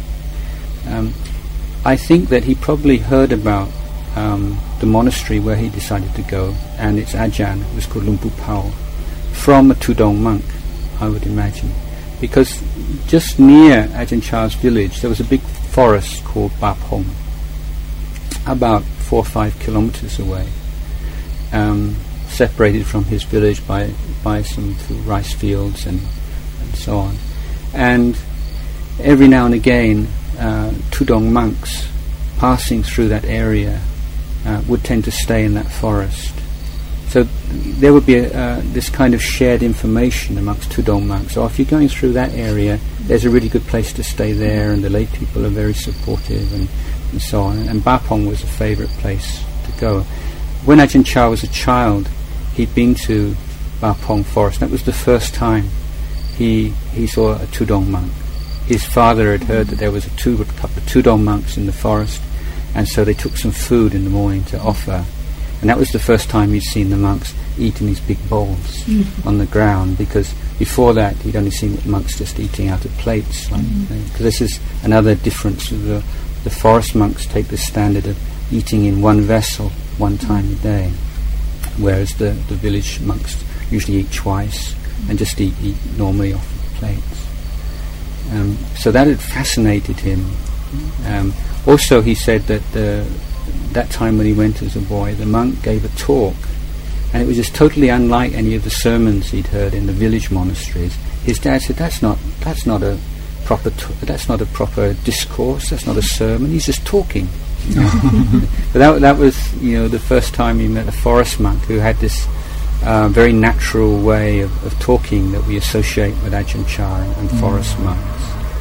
I think that he probably heard about the monastery where he decided to go, and its ajahn was called Lumpu Pao, from a Tudong monk, I would imagine. Because just near Ajahn Chah's village there was a big forest called Ba Pong, about 4 or 5 kilometers away, separated from his village by some rice fields and so on. And every now and again Tudong monks passing through that area would tend to stay in that forest. So there would be this kind of shared information amongst Tudong monks. So if you're going through that area, there's a really good place to stay there, and the lay people are very supportive, and so on. And Ba Pong was a favourite place to go. When Ajahn Chah was a child, he'd been to Ba Pong forest. That was the first time he saw a Tudong monk. His father had heard that there was a couple of Tudong monks in the forest, and so they took some food in the morning to offer. And that was the first time he'd seen the monks eat in these big bowls on the ground, because before that he'd only seen monks just eating out of plates. Because this is another difference. The forest monks take the standard of eating in one vessel 1 time a day, whereas the village monks usually eat twice and just eat normally off the plates. So that had fascinated him. Also, he said that that time when he went as a boy, the monk gave a talk, and it was just totally unlike any of the sermons he'd heard in the village monasteries. His dad said, that's not a proper discourse, that's not a sermon, he's just talking. But that was the first time he met a forest monk who had this very natural way of talking that we associate with Ajahn Chah and forest monks.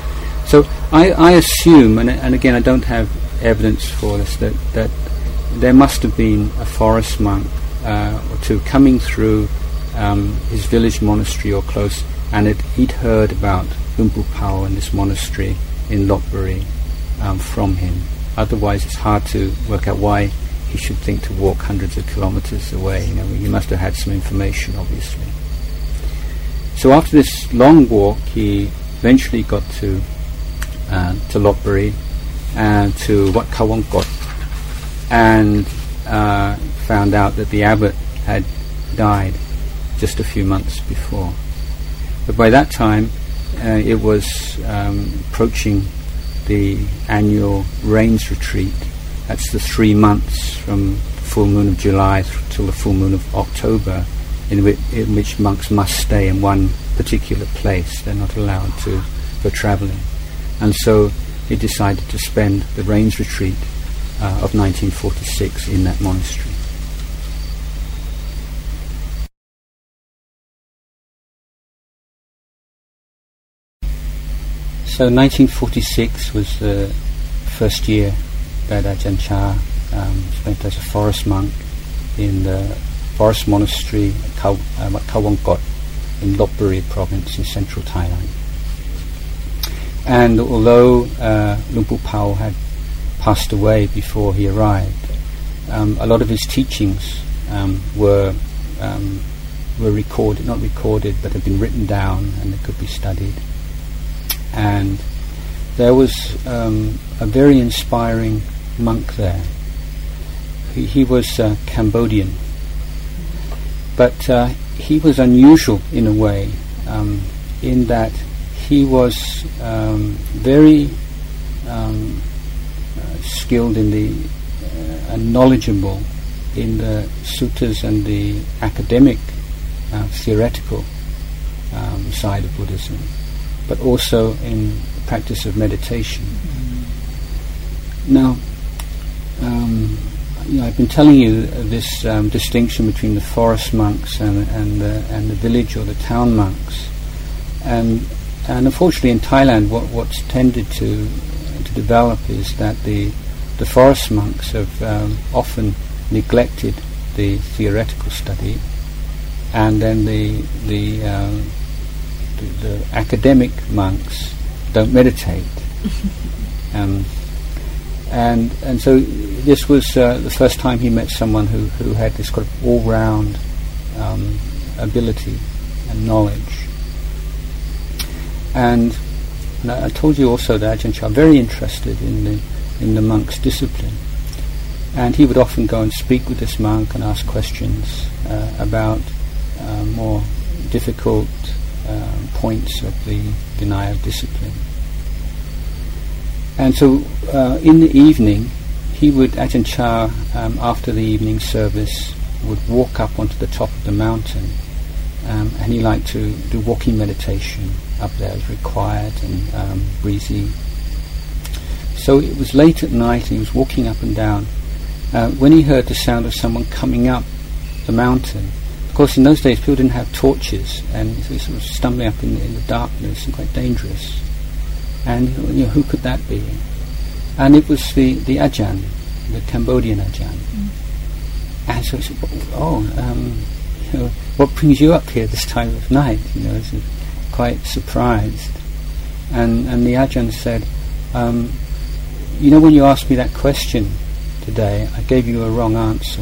So I assume, and again I don't have evidence for this, that there must have been a forest monk or two coming through his village monastery or close, and he'd heard about Luang Pu Pao and this monastery in Lopburi from him. Otherwise it's hard to work out why he should think to walk hundreds of kilometers away. He must have had some information, obviously. So after this long walk, he eventually got to Lopburi and to Wat Kawangkot, and found out that the abbot had died just a few months before. But by that time, it was approaching the annual rains retreat. That's the 3 months from full moon of July till the full moon of October, in which monks must stay in one particular place. They're not allowed to go travelling. And so he decided to spend the rains retreat of 1946 in that monastery. So 1946 was the first year that Ajahn Chah spent as a forest monk in the forest monastery at Wat Kawangkot in Lopburi province in central Thailand. And although Luang Pu Pao had passed away before he arrived, a lot of his teachings were recorded, not recorded, but had been written down, and they could be studied. And there was a very inspiring monk there. He was Cambodian, but he was unusual in a way, in that he was very skilled in and knowledgeable in the suttas and the academic theoretical side of Buddhism, but also in the practice of meditation. Now, I've been telling you this distinction between the forest monks and the village or the town monks, and unfortunately in Thailand, what's tended to develop is that the forest monks have often neglected the theoretical study, and then the academic monks don't meditate. And so this was the first time he met someone who had this kind of all-round ability and knowledge. And I told you also that Ajahn Chah was very interested in the monk's discipline, and he would often go and speak with this monk and ask questions about more difficult points of the Vinaya discipline. And so in the evening, Ajahn Chah, after the evening service, would walk up onto the top of the mountain, and he liked to do walking meditation up there. It was very quiet and breezy. So it was late at night, and he was walking up and down, when he heard the sound of someone coming up the mountain. Of course, in those days, people didn't have torches, and so he sort of stumbling up in the darkness and quite dangerous. And who could that be? And it was the Ajahn, the Cambodian Ajahn. And so he said, what brings you up here this time of night? He was quite surprised. And the Ajahn said, when you asked me that question today, I gave you a wrong answer.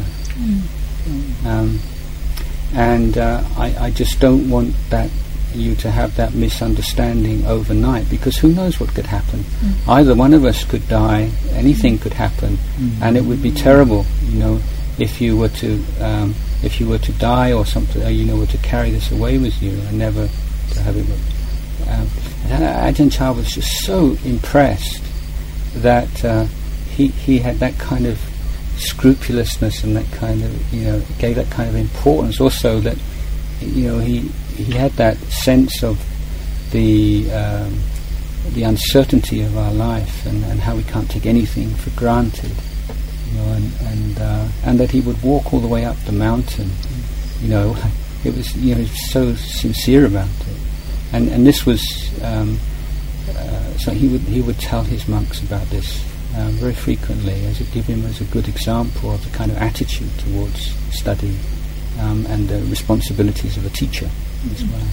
And I just don't want you to have that misunderstanding overnight, because who knows what could happen. Either one of us could die, anything could happen, and it would be terrible, if you were to die or something, or were to carry this away with you and never to have it. Ajahn Chah was just so impressed that he had that kind of scrupulousness and that kind of, gave that kind of importance. Also that, he had that sense of the uncertainty of our life and how we can't take anything for granted, and that he would walk all the way up the mountain. It was, he was so sincere about it, and this was so he would tell his monks about this very frequently, as it gave him as a good example of the kind of attitude towards study and the responsibilities of a teacher as well.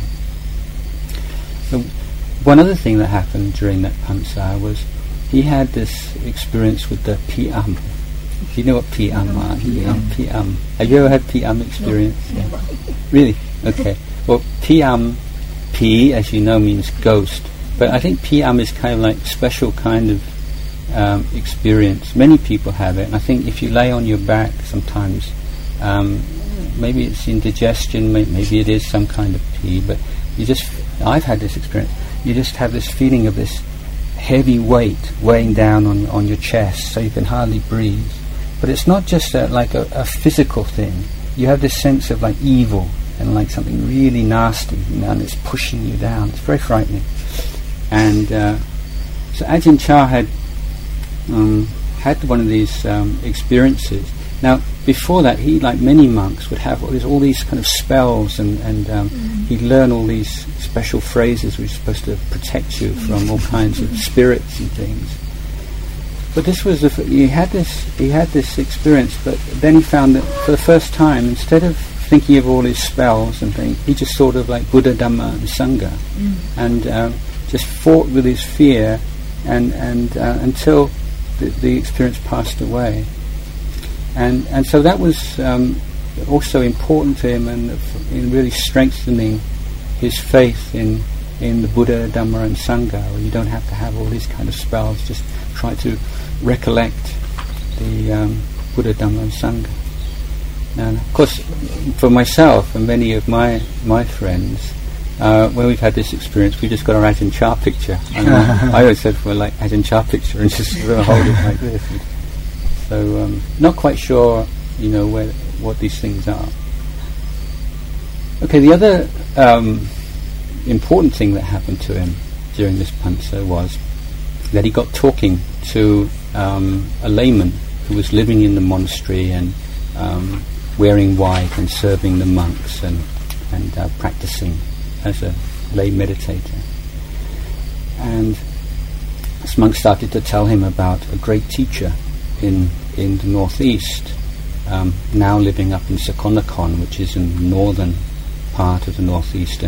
So one other thing that happened during that Pansa was he had this experience with the Pi'am. Do you know what Pi'am are? Pi'am. Have you ever had Pi'am experience? No. Yeah. Really? Okay. Well, Pi'am, Pi, as you know, means ghost. But I think Pi'am is kind of like special kind of experience. Many people have it. And I think if you lay on your back sometimes, maybe it's indigestion, maybe it is some kind of Pi, but I've had this experience. You just have this feeling of this heavy weight weighing down on your chest, so you can hardly breathe. But it's not just like a physical thing. You have this sense of like evil and like something really nasty, and it's pushing you down. It's very frightening. And so Ajahn Chah had one of these experiences. Now, before that, he, like many monks, would have all these kind of spells, and he'd learn all these special phrases which are supposed to protect you from all kinds of spirits and things. But this was he had this experience, but then he found that for the first time, instead of thinking of all his spells and things, he just thought of like Buddha, Dhamma, and Sangha, and just fought with his fear, and until the experience passed away. And so that was also important to him, and in really strengthening his faith in the Buddha, Dhamma, and Sangha, where you don't have to have all these kind of spells. Just try to recollect the Buddha, Dhamma, and Sangha. And of course, for myself and many of my friends, when we've had this experience, we just got our Ajahn Chah picture. And I always said, well, like Ajahn Chah picture, and just sort of hold it like this. So, not quite sure, what these things are. Okay, the other important thing that happened to him during this Pansa was that he got talking to a layman who was living in the monastery and wearing white and serving the monks and practicing as a lay meditator. And this monk started to tell him about a great teacher in the northeast, now living up in Sakonnakhon, which is in the northern part of the northeastern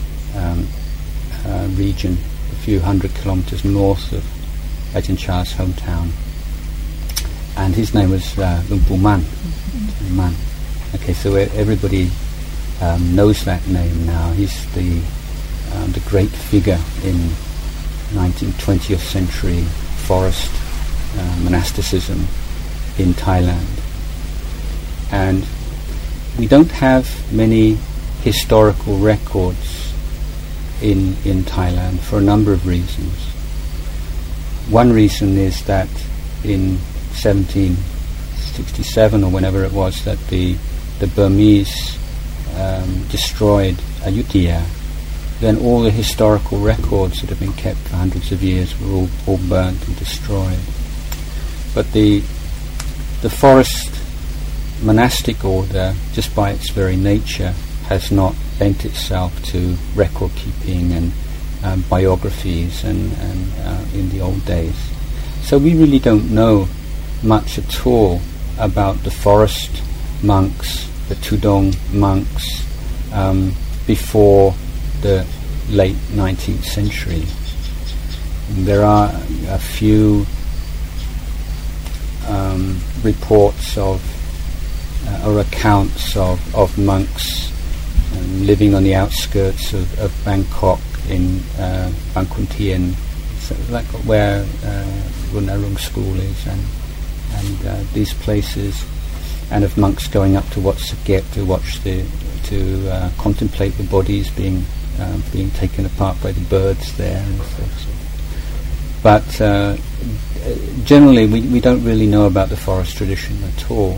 region, a few hundred kilometers north of Ajahn Chah's hometown. And his name was Luang Pu Man. Man. Okay, so everybody knows that name now. He's the great figure in 20th century forest monasticism in Thailand. And we don't have many historical records in Thailand for a number of reasons. One reason is that in 1767 or whenever it was that the Burmese destroyed Ayutthaya, then all the historical records that have been kept for hundreds of years were all burnt and destroyed. But the forest monastic order, just by its very nature, has not lent itself to record keeping and biographies and in the old days. So we really don't know much at all about the forest monks, the Tudong monks, before the late 19th century. There are a few reports of or accounts of monks living on the outskirts of Bangkok in Bangkok Tien, so like where Runarung School is, and these places, and of monks going up to Wat Saket to watch to contemplate the bodies being taken apart by the birds there and so forth. But generally we don't really know about the forest tradition at all.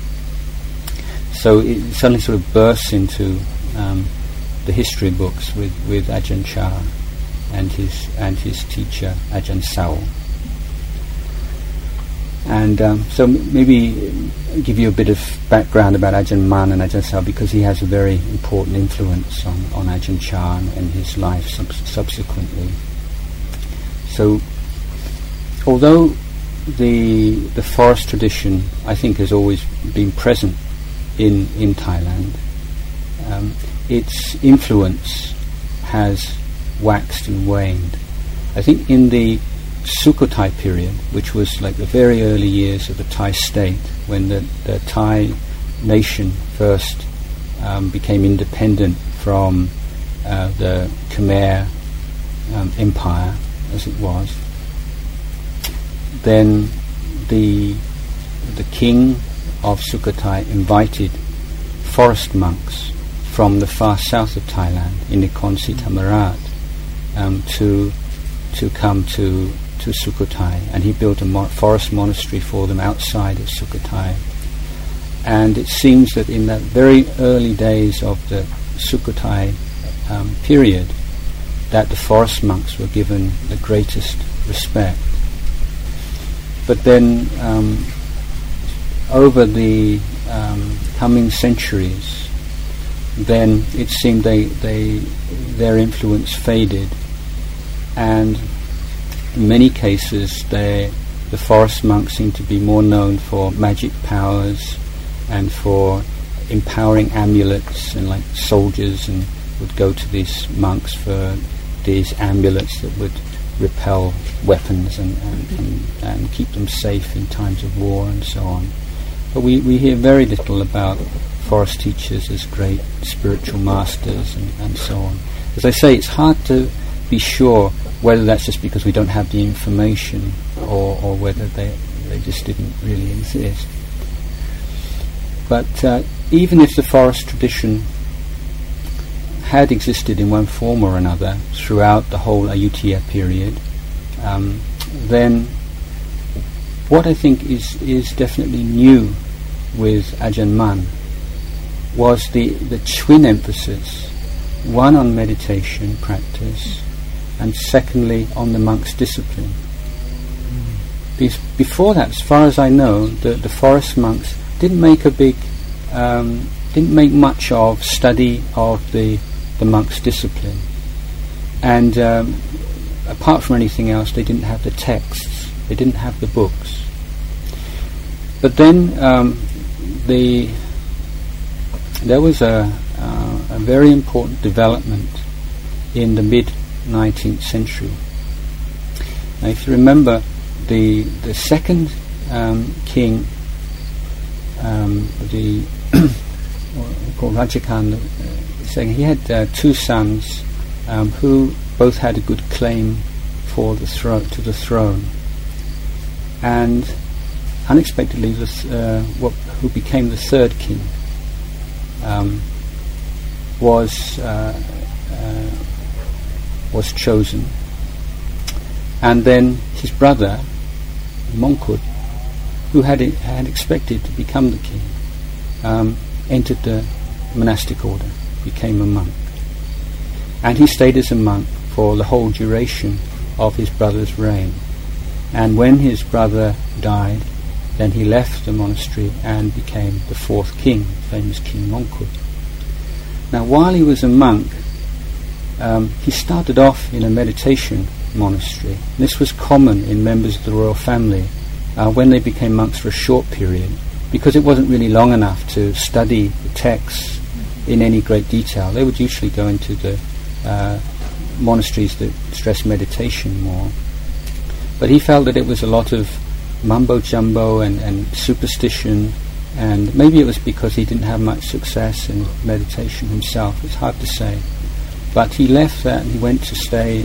So it suddenly sort of bursts into the history books with Ajahn Chah and his teacher Ajahn Sao. And so maybe give you a bit of background about Ajahn Man and Ajahn Sao, because he has a very important influence on Ajahn Chah and his life subsequently. So, although the forest tradition, I think, has always been present in Thailand, its influence has waxed and waned. I think in the Sukhothai period, which was like the very early years of the Thai state, when the Thai nation first became independent from the Khmer Empire, as it was, then the king of Sukhothai invited forest monks from the far south of Thailand, in Nakhon Si Thammarat, to come to Sukhothai, and he built a forest monastery for them outside of Sukhothai. And it seems that in that very early days of the Sukhothai period, that the forest monks were given the greatest respect. But then, over the coming centuries, then it seemed their influence faded, and in many cases the forest monks seemed to be more known for magic powers and for empowering amulets, and like soldiers and would go to these monks for these amulets that would repel weapons and keep them safe in times of war and so on. But we hear very little about forest teachers as great spiritual masters and so on. As I say, it's hard to be sure whether that's just because we don't have the information or whether they just didn't really exist. But even if the forest tradition had existed in one form or another throughout the whole Ayutthaya period, then what I think is definitely new with Ajahn Mun was the twin emphasis, one on meditation practice, and secondly on the monk's discipline. Before that, as far as I know, the forest monks didn't make much of study of the monk's discipline, and apart from anything else, they didn't have the texts, they didn't have the books. But then there was a very important development in the mid-19th century. Now, if you remember, the second king, called Rajakan, saying he had two sons who both had a good claim to the throne, and unexpectedly, who became the third king was chosen, and then his brother Mongkut, who had expected to become the king, entered the monastic order, became a monk, and he stayed as a monk for the whole duration of his brother's reign. And when his brother died, then he left the monastery and became the fourth king, famous King Mongkut. Now, while he was a monk, he started off in a meditation monastery. This was common in members of the royal family when they became monks for a short period, because it wasn't really long enough to study the texts in any great detail. They would usually go into the monasteries that stress meditation more. But he felt that it was a lot of mumbo-jumbo and superstition, and maybe it was because he didn't have much success in meditation himself. It's hard to say. But he left that and he went to stay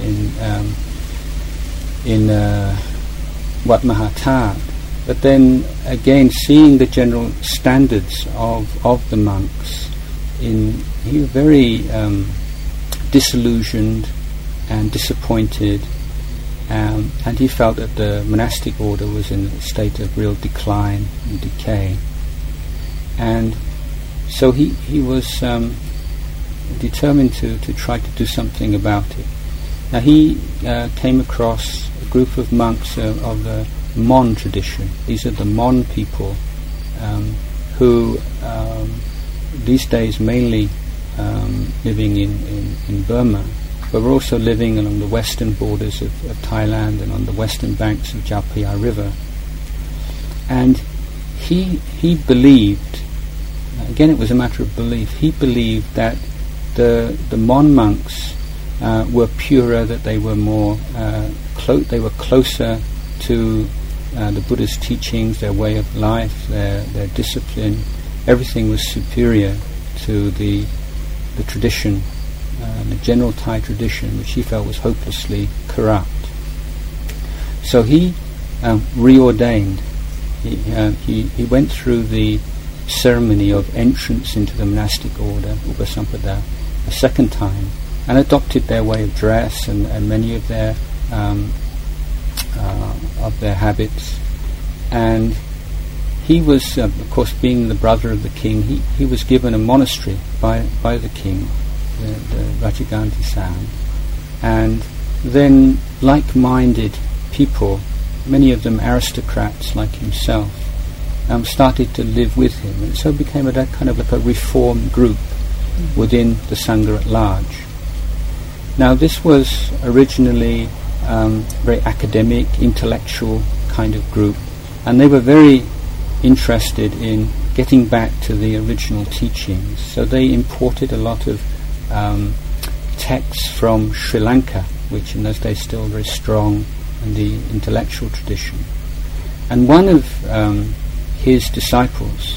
in Wat Mahathat. But then again, seeing the general standards of the monks, he was very disillusioned and disappointed, and he felt that the monastic order was in a state of real decline and decay. And so he was determined to try to do something about it. Now he came across a group of monks of the Mon tradition. These are the Mon people who these days mainly living in Burma, but were also living along the western borders of Thailand and on the western banks of Chao Phraya River. And he believed, again it was a matter of belief, he believed that the Mon monks were purer, that they were more they were closer to the Buddha's teachings, their way of life, their discipline. Everything was superior to the tradition, the general Thai tradition, which he felt was hopelessly corrupt. So he reordained. He went through the ceremony of entrance into the monastic order, Upasampada, a second time, and adopted their way of dress and many of their habits. And he was, of course, being the brother of the king, he was given a monastery by the king, the Rajaganti Sam. And then like-minded people, many of them aristocrats like himself, started to live with him, and so became a kind of like a reform group within the Sangha at large. Now this was originally very academic, intellectual kind of group, and they were very interested in getting back to the original teachings. So they imported a lot of texts from Sri Lanka, which in those days still very strong in the intellectual tradition. And one of his disciples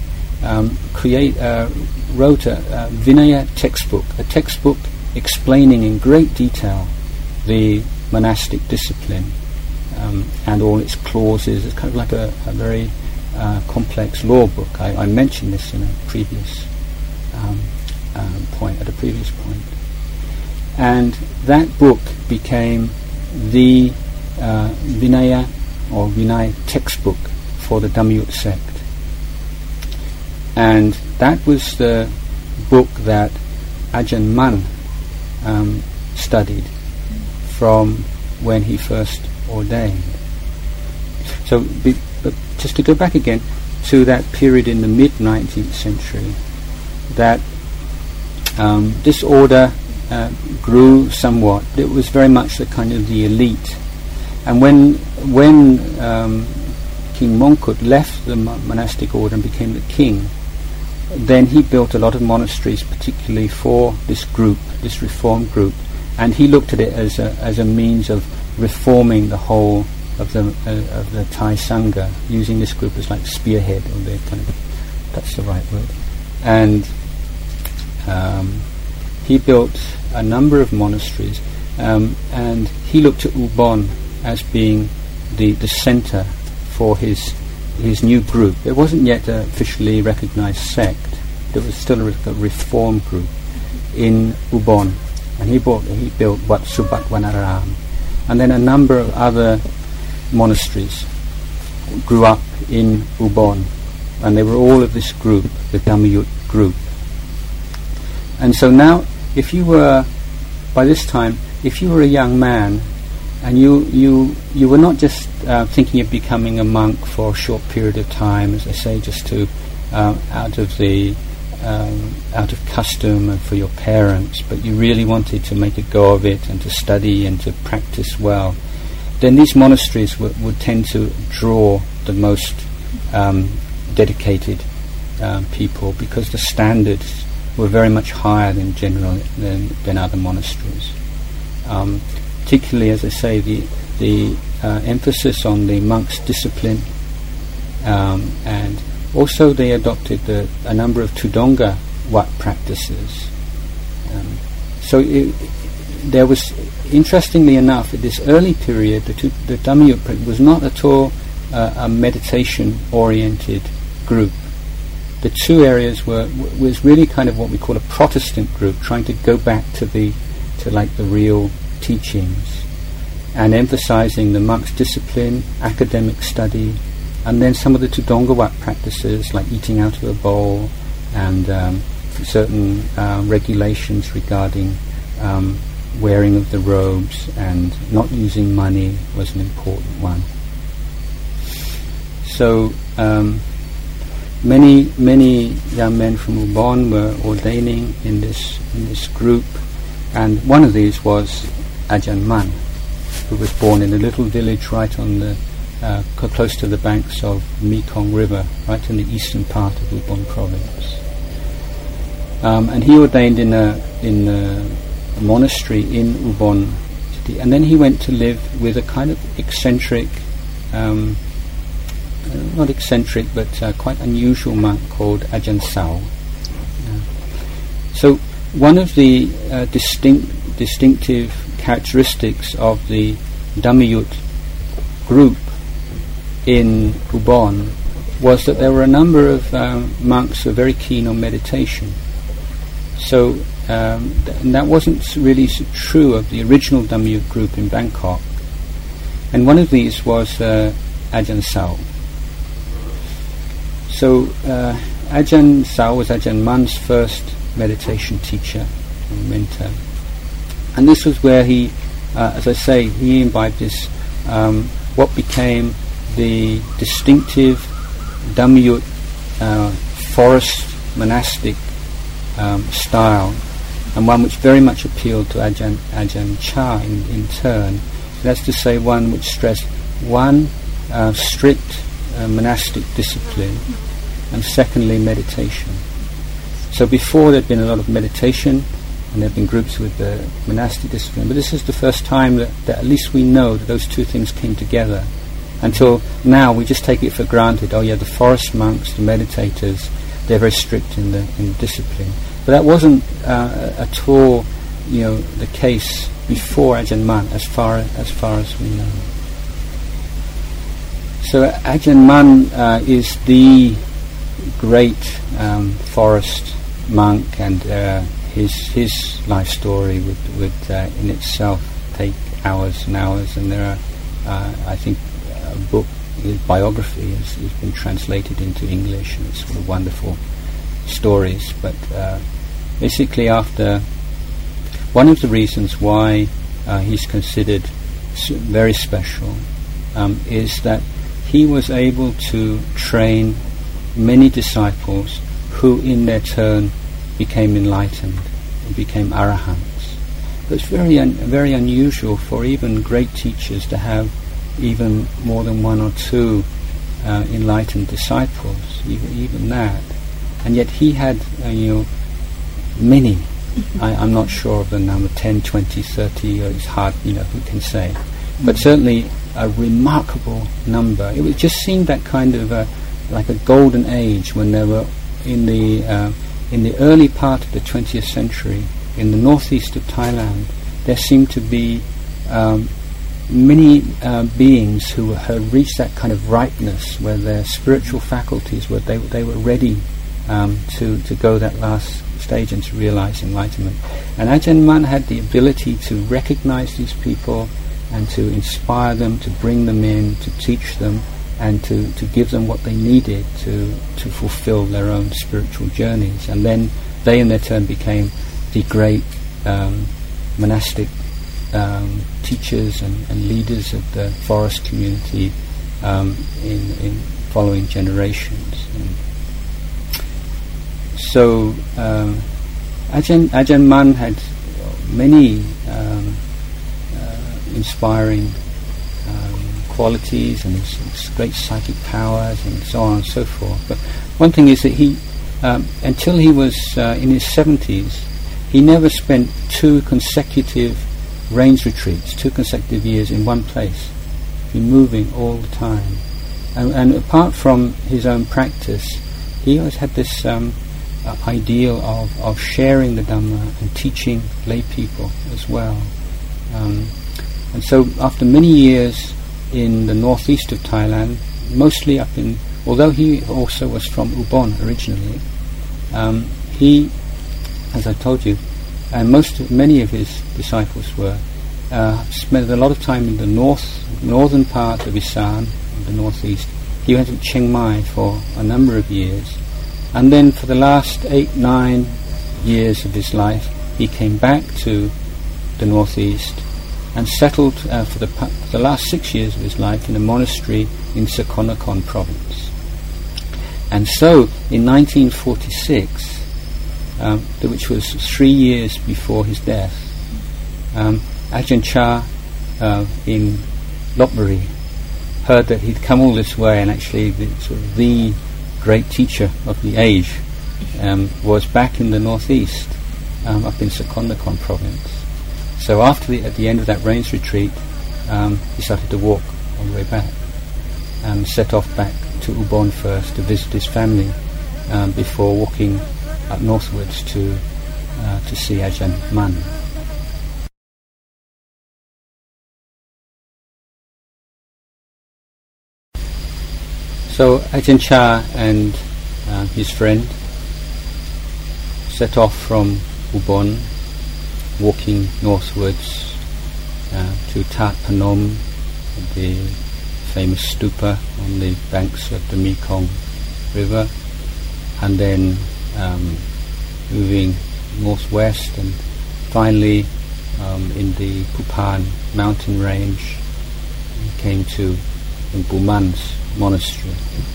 wrote a Vinaya textbook, a textbook explaining in great detail the monastic discipline and all its clauses. It's kind of like a very complex law book. I mentioned this in a previous point, at a previous point. And that book became the Vinaya or Vinay textbook for the Dhammayut sect. And that was the book that Ajahn Mun studied from when he first ordained. So, but just to go back again to that period in the mid-19th century, that this order grew somewhat. It was very much the kind of the elite. And when King Mongkut left the monastic order and became the king, then he built a lot of monasteries, particularly for this group, this reform group, and he looked at it as a means of reforming the whole of the Thai Sangha, using this group as like spearhead, or the kind of, that's the right word. And he built a number of monasteries, and he looked at Ubon as being the centre for his new group. It wasn't yet an officially recognised sect. There was still a reform group in Ubon, and he built Wat Subat Wanaram, and then a number of other monasteries grew up in Ubon, and they were all of this group, the Dhammayut group. And so now, if you were, by this time, if you were a young man, and you were not just thinking of becoming a monk for a short period of time, as I say, just to out of custom and for your parents, but you really wanted to make a go of it and to study and to practice well, then these monasteries would tend to draw the most dedicated people, because the standards were very much higher than other monasteries. Particularly, as I say, the emphasis on the monk's discipline, and also they adopted a number of Tudonga Wat practices. So there was, interestingly enough, at this early period, the Dhammayut was not at all a meditation-oriented group. The two areas was really kind of what we call a Protestant group, trying to go back to the real teachings, and emphasizing the monk's discipline, academic study, and then some of the Tudonga Wat practices like eating out of a bowl and certain regulations regarding wearing of the robes and not using money was an important one. So many young men from Ubon were ordaining in this group, And one of these was Ajahn Mun, who was born in a little village right on the close to the banks of Mekong River, right in the eastern part of Ubon province. And he ordained in a monastery in Ubon city, and then he went to live with a kind of eccentric, not eccentric, but quite unusual monk called Ajahn Sao. So one of the distinctive characteristics of the Dhammayut group in Ubon was that there were a number of monks who were very keen on meditation. So and that wasn't really true of the original Dhammayut group in Bangkok. And one of these was Ajahn Sao. So Ajahn Sao was Ajahn Mun's first meditation teacher and mentor. And this was where he, as I say, he imbibed this, what became the distinctive Dhammayut forest monastic style, and one which very much appealed to Ajahn Chah in turn. That's to say, one which stressed one, strict monastic discipline, and secondly, meditation. So before there'd been a lot of meditation, and there'd been groups with the monastic discipline, but this is the first time that at least we know that those two things came together. Until now, we just take it for granted. Oh yeah, the forest monks, the meditators, they're very strict in the discipline. But that wasn't at all, the case before Ajahn Mun, as far as we know. So Ajahn Mun is the great forest monk, and his life story would in itself take hours and hours. And there are, I think, a book, his biography has been translated into English, and it's full of wonderful stories. But basically, after one of the reasons why he's considered very special is that he was able to train many disciples who in their turn became enlightened and became arahants. It's very unusual for even great teachers to have even more than one or two enlightened disciples, even that. And yet he had many. I'm not sure of the number, 10, 20, 30, or it's hard, who can say. But certainly a remarkable number. It just seemed that kind of like a golden age when there were in the early part of the 20th century, in the northeast of Thailand, there seemed to be many beings who had reached that kind of ripeness where their spiritual faculties were they were ready to go that last stage and to realize enlightenment. And Ajahn Mun had the ability to recognize these people and to inspire them, to bring them in, to teach them, and to give them what they needed to fulfill their own spiritual journeys. And then they in their turn became the great monastic teachers and leaders of the forest community in following generations. And so Ajahn Mun had many inspiring qualities and his great psychic powers and so on and so forth. But one thing is that he, until he was in his 70s, he never spent 2 consecutive rains retreats, 2 consecutive years in one place. He'd been moving all the time. And apart from his own practice, he always had this ideal of sharing the Dhamma and teaching lay people as well. And so after many years in the northeast of Thailand, mostly although he also was from Ubon originally, he, as I told you, and many of his disciples were, spent a lot of time in the northern part of Isan, the northeast. He went to Chiang Mai for a number of years, and then for the last 8-9 years of his life, he came back to the northeast and settled for the last 6 years of his life in a monastery in Sakonnakhon province. And so, in 1946, which was 3 years before his death, Ajahn Chah in Lopburi heard that he'd come all this way, and actually the great teacher of the age was back in the northeast, up in Sakonnakhon province. So at the end of that rains retreat, he started to walk all the way back, set off back to Ubon first to visit his family, before walking up northwards to see Ajahn Mun. So Ajahn Chah and his friend set off from Ubon, walking northwards to Tat Panom, the famous stupa on the banks of the Mekong River, and then moving northwest, and finally in the Pupan mountain range came to Buman's monastery.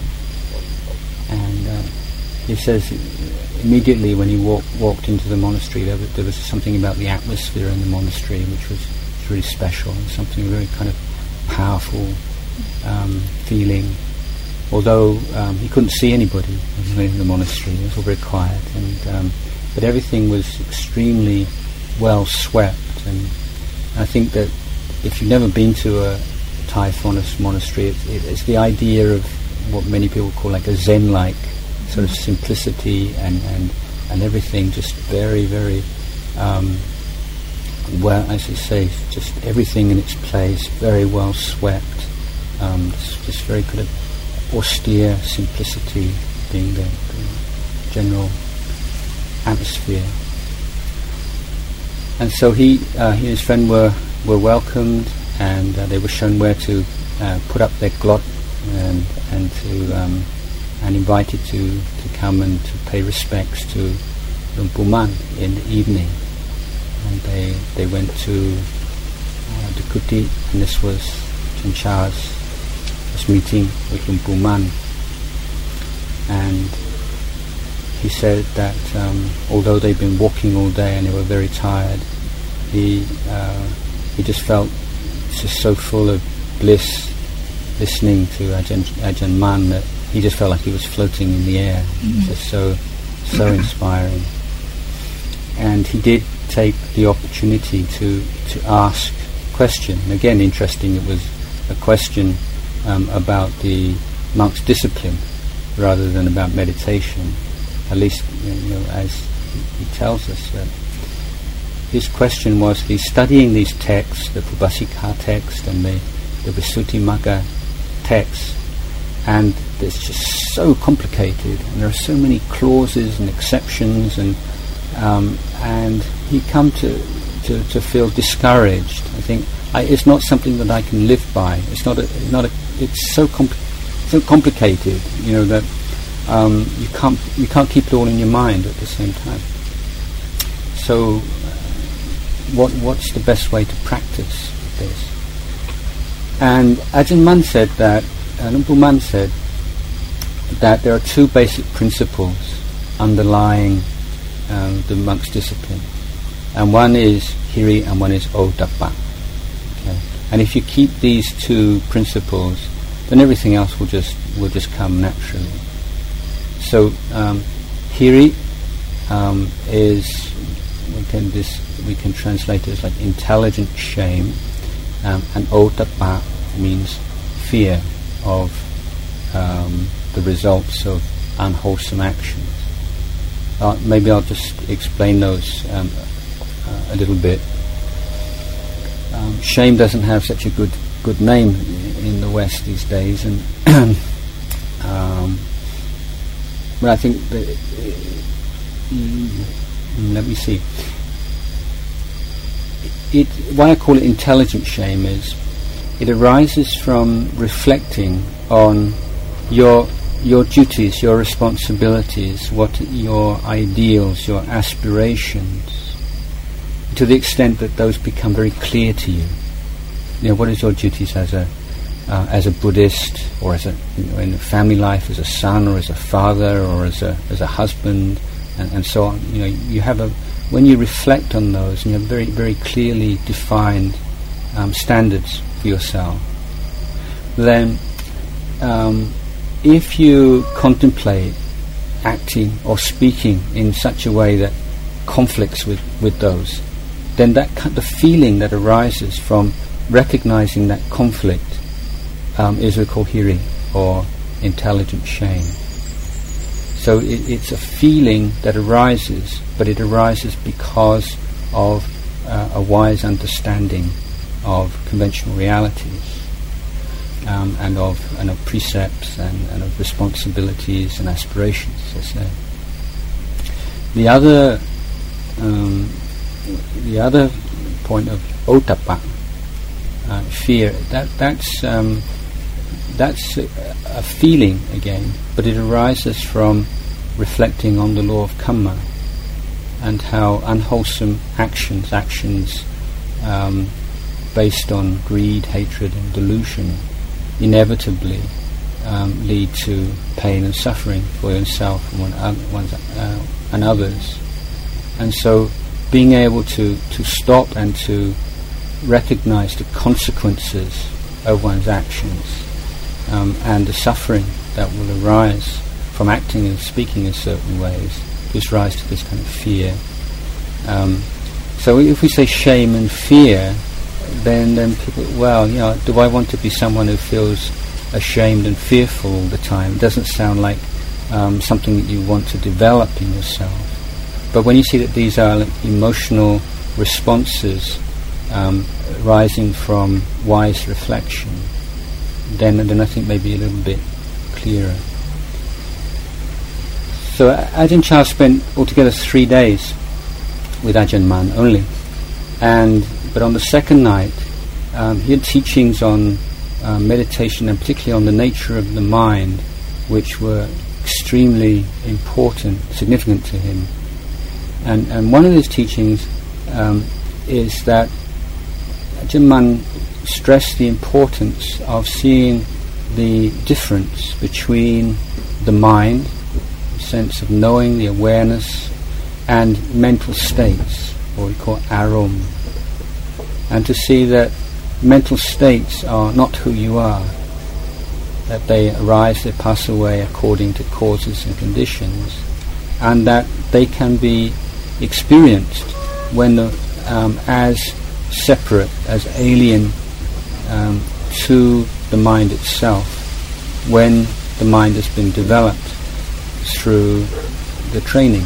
And he says immediately when he walked into the monastery, there was something about the atmosphere in the monastery which was really special, and something very kind of powerful feeling. Although he couldn't see anybody in the monastery, it was all very quiet, and but everything was extremely well swept. And I think that if you've never been to a Thai Forest monastery, it's the idea of what many people call like a Zen-like sort of simplicity, and everything just very, very well, as you say, just everything in its place, very well swept, just very kind of austere simplicity being the general atmosphere. And so he and his friend were welcomed, and they were shown where to put up their glot, and invited to come and to pay respects to Luang Pu Man in the evening. And they went to the kuti, and this was Ajahn Chah's meeting with Luang Pu Man. And he said that although they'd been walking all day and they were very tired, he just felt just so full of bliss listening to Ajahn Mun that he just felt like he was floating in the air. Just so inspiring. And he did take the opportunity to ask a question. And again, interesting, it was a question about the monk's discipline rather than about meditation. At least, as he tells us, that his question was, he's studying these texts, the Pubbasika text and the Visuddhimagga text, and it's just so complicated, and there are so many clauses and exceptions, and he come to feel discouraged. I think it's not something that I can live by. It's not. It's so complicated, that you can't keep it all in your mind at the same time. So, what's the best way to practice this? And Ajahn Mun said that, Luang Pu Man said that there are two basic principles underlying the monk's discipline, and one is hiri and one is ottappa. Okay? And if you keep these two principles, then everything else will just come naturally. So hiri is we can translate it as like intelligent shame, and ottappa means fear of the results of unwholesome actions. Maybe I'll just explain those a little bit. Shame doesn't have such a good name in the West these days, and but I think that let me see. Why I call it intelligent shame is it arises from reflecting on your duties, your responsibilities, what your ideals, your aspirations, to the extent that those become very clear to you. What is your duties as a Buddhist, or as in family life, as a son, or as a father, or as a husband, and so on. You have when you reflect on those, and you have very, very clearly defined standards for yourself, then if you contemplate acting or speaking in such a way that conflicts with those, then the feeling that arises from recognizing that conflict is a kohiri, or intelligent shame. So it's a feeling that arises, but it arises because of a wise understanding of conventional realities, and of precepts and of responsibilities and aspirations, as I say. The other point of ottappa, fear, that's a feeling again, but it arises from reflecting on the law of karma and how unwholesome actions based on greed, hatred and delusion inevitably lead to pain and suffering for yourself and others. And so being able to stop and to recognize the consequences of one's actions, and the suffering that will arise from acting and speaking in certain ways, gives rise to this kind of fear. So if we say shame and fear, then people, do I want to be someone who feels ashamed and fearful all the time? It doesn't sound like something that you want to develop in yourself. But when you see that these are emotional responses rising from wise reflection, then I think maybe a little bit clearer. So Ajahn Chah spent altogether 3 days with Ajahn Mun only, but on the second night he had teachings on meditation, and particularly on the nature of the mind, which were extremely important, significant to him. And one of his teachings is that Ajahn Mun stressed the importance of seeing the difference between the mind, the sense of knowing, the awareness, and mental states, or we call arom, and to see that mental states are not who you are, that they arise, they pass away according to causes and conditions, and that they can be experienced when as separate, as alien to the mind itself, when the mind has been developed through the training.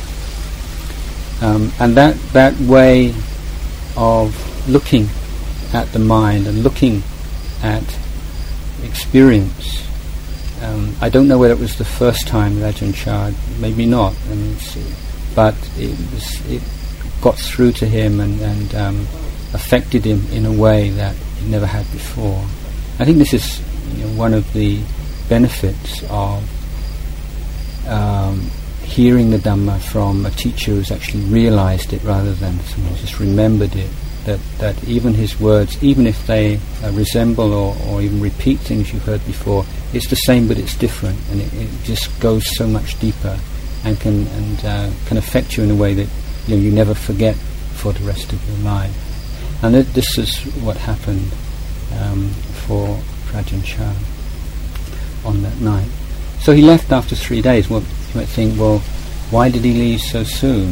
And that way of looking at the mind and looking at experience, I don't know whether it was the first time that Ajahn Chah, maybe not, but it got through to him and affected him in a way that he never had before. I think this is one of the benefits of hearing the Dhamma from a teacher who's actually realized it rather than someone who's just remembered it, that even his words, even if they resemble or even repeat things you've heard before, it's the same but it's different, and it just goes so much deeper and can affect you in a way that you never forget for the rest of your life. And this is what happened for Ajahn Chah on that night. So he left after 3 days. Well, you might think, why did he leave so soon?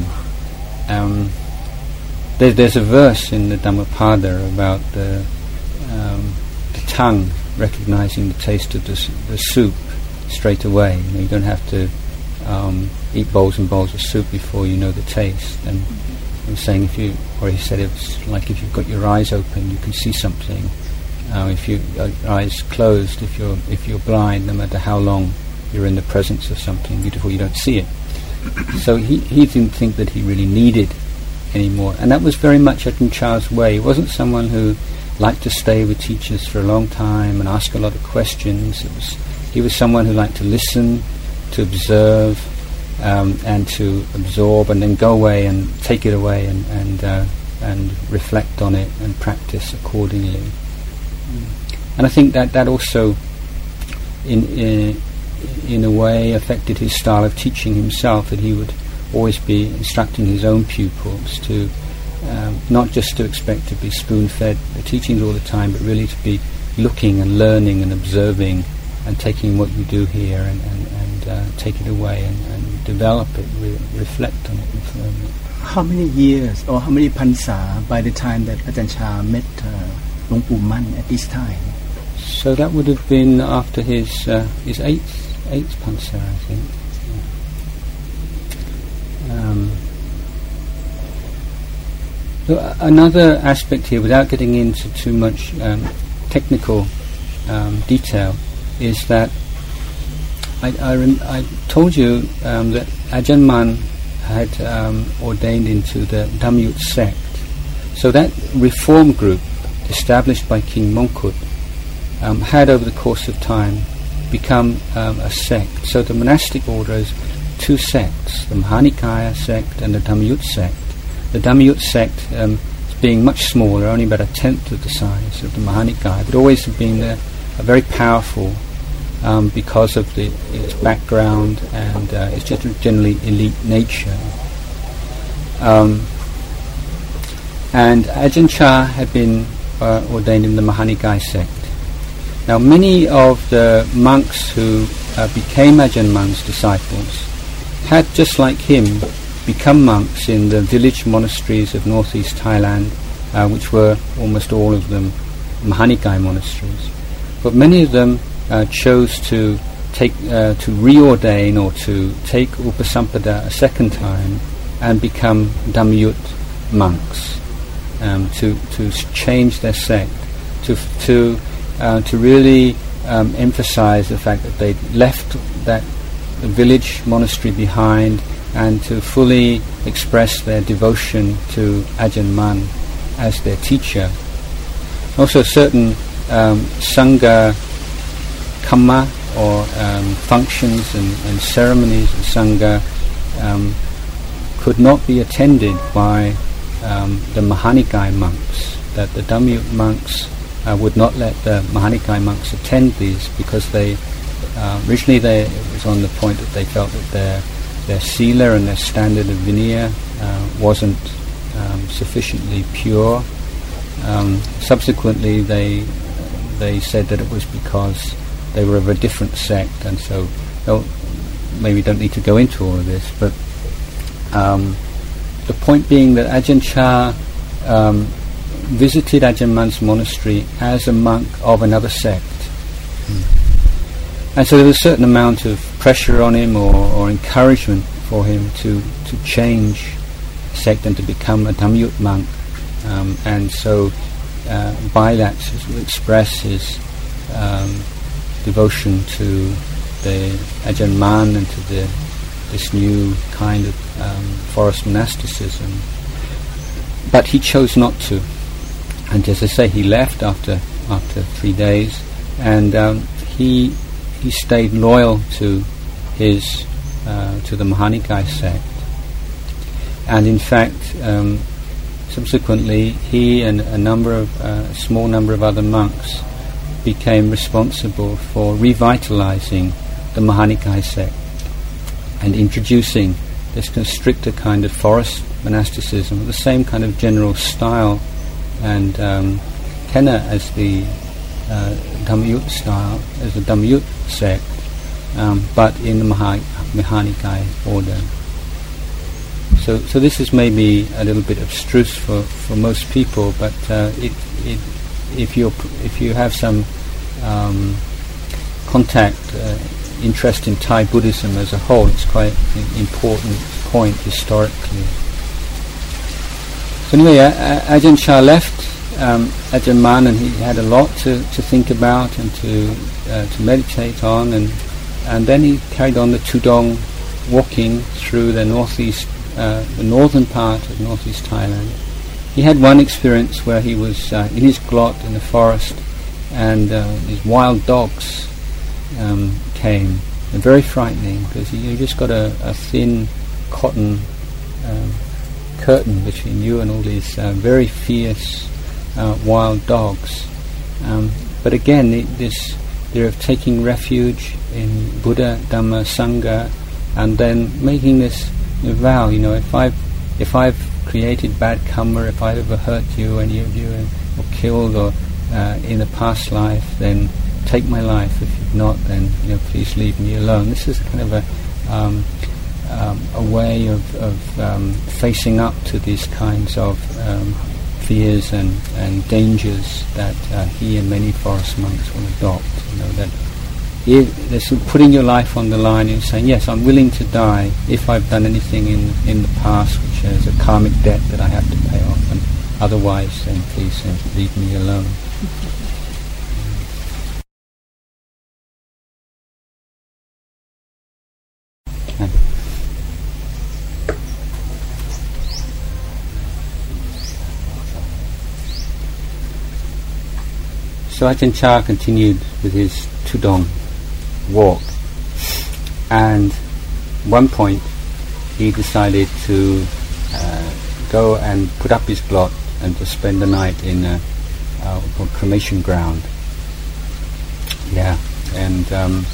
There's a verse in the Dhammapada about the tongue recognizing the taste of the soup straight away. You don't have to eat bowls and bowls of soup before you know the taste. And I was saying, he said it's like if you've got your eyes open, you can see something. If your eyes closed, if you're blind, no matter how long you're in the presence of something beautiful, you don't see it. So he didn't think that he really needed any more, and that was very much Ajahn Chah's way. He wasn't someone who liked to stay with teachers for a long time and ask a lot of questions. He was someone who liked to listen, to observe, and to absorb, and then go away and take it away and reflect on it and practice accordingly. And I think that also in a way affected his style of teaching himself, that he would always be instructing his own pupils to not just to expect to be spoon-fed the teachings all the time, but really to be looking and learning and observing and taking what you do here and take it away and develop it, reflect on it firmly. How many years or how many Pansa by the time that Ajahn Chah met Luang Pu Man at this time? So that would have been after his eighth Pansa, I think. Another aspect here, without getting into too much technical detail, is that I told you that Ajahn Man had ordained into the Dhammayut sect. So that reform group established by King Mongkut had over the course of time become a sect. So the monastic order is two sects, the Mahanikaya sect and the Dhammayut sect. The Dhammayut sect being much smaller, only about a tenth of the size of the Mahanikaya, but always being a very powerful because of its background and its generally elite nature. And Ajahn Chah had been ordained in the Mahanikaya sect. Now many of the monks who became Ajahn Man's disciples had, just like him, become monks in the village monasteries of northeast Thailand, which were almost all of them Mahanikaya monasteries. But many of them chose to reordain or to take Upasampada a second time and become Dhammayut monks, to change their sect, to really emphasize the fact that they left the village monastery behind and to fully express their devotion to Ajahn Man as their teacher. Also certain Sangha Kamma or functions and ceremonies of Sangha could not be attended by the Mahanikaya monks, that the Dhammayut monks would not let the Mahanikaya monks attend these because originally it was on the point that they felt that their sila and their standard of vinaya wasn't sufficiently pure. Subsequently they said that it was because they were of a different sect, and so maybe don't need to go into all of this, but the point being that Ajahn Chah visited Ajahn Man's monastery as a monk of another sect. And so there was a certain amount of pressure on him or encouragement for him to change sect and to become a Dhammayut monk. And so by that to express his devotion to the Ajahn Man and to this new kind of forest monasticism. But he chose not to. And as I say, he left after 3 days, and he stayed loyal to the Mahanikaya sect. And in fact, subsequently, he and a small number of other monks became responsible for revitalizing the Mahanikaya sect and introducing this kind of stricter kind of forest monasticism, the same kind of general style and tenor as the Dhammayut style, as the Dhammayut sect, but in the Mahanikaya order. So this is maybe a little bit abstruse for most people, but if you have some contact, interest in Thai Buddhism as a whole, it's quite an important point historically. So anyway, Ajahn Chah left Ajahn Man, and he had a lot to think about and to meditate on, and then he carried on the Tudong, walking through the northern part of northeast Thailand. He had one experience where he was in his glot in the forest, and these wild dogs came. They're very frightening because you just got a thin cotton curtain between you and all these very fierce wild dogs. But again, they're taking refuge in Buddha, Dhamma, Sangha, and then making this you vow, if I've created bad karma, if I've ever hurt you, any of you, or killed, or in a past life, then take my life. If you've not, then please leave me alone. This is kind of a way of facing up to these kinds of fears and dangers that he and many forest monks will adopt. That there's putting your life on the line and saying, yes, I'm willing to die if I've done anything in the past which is a karmic debt that I have to pay off, and otherwise then please leave me alone. Okay. So Ajahn Chah continued with his Tudong walk, and at one point he decided to go and put up his blot and to spend the night in a cremation ground. Yeah, and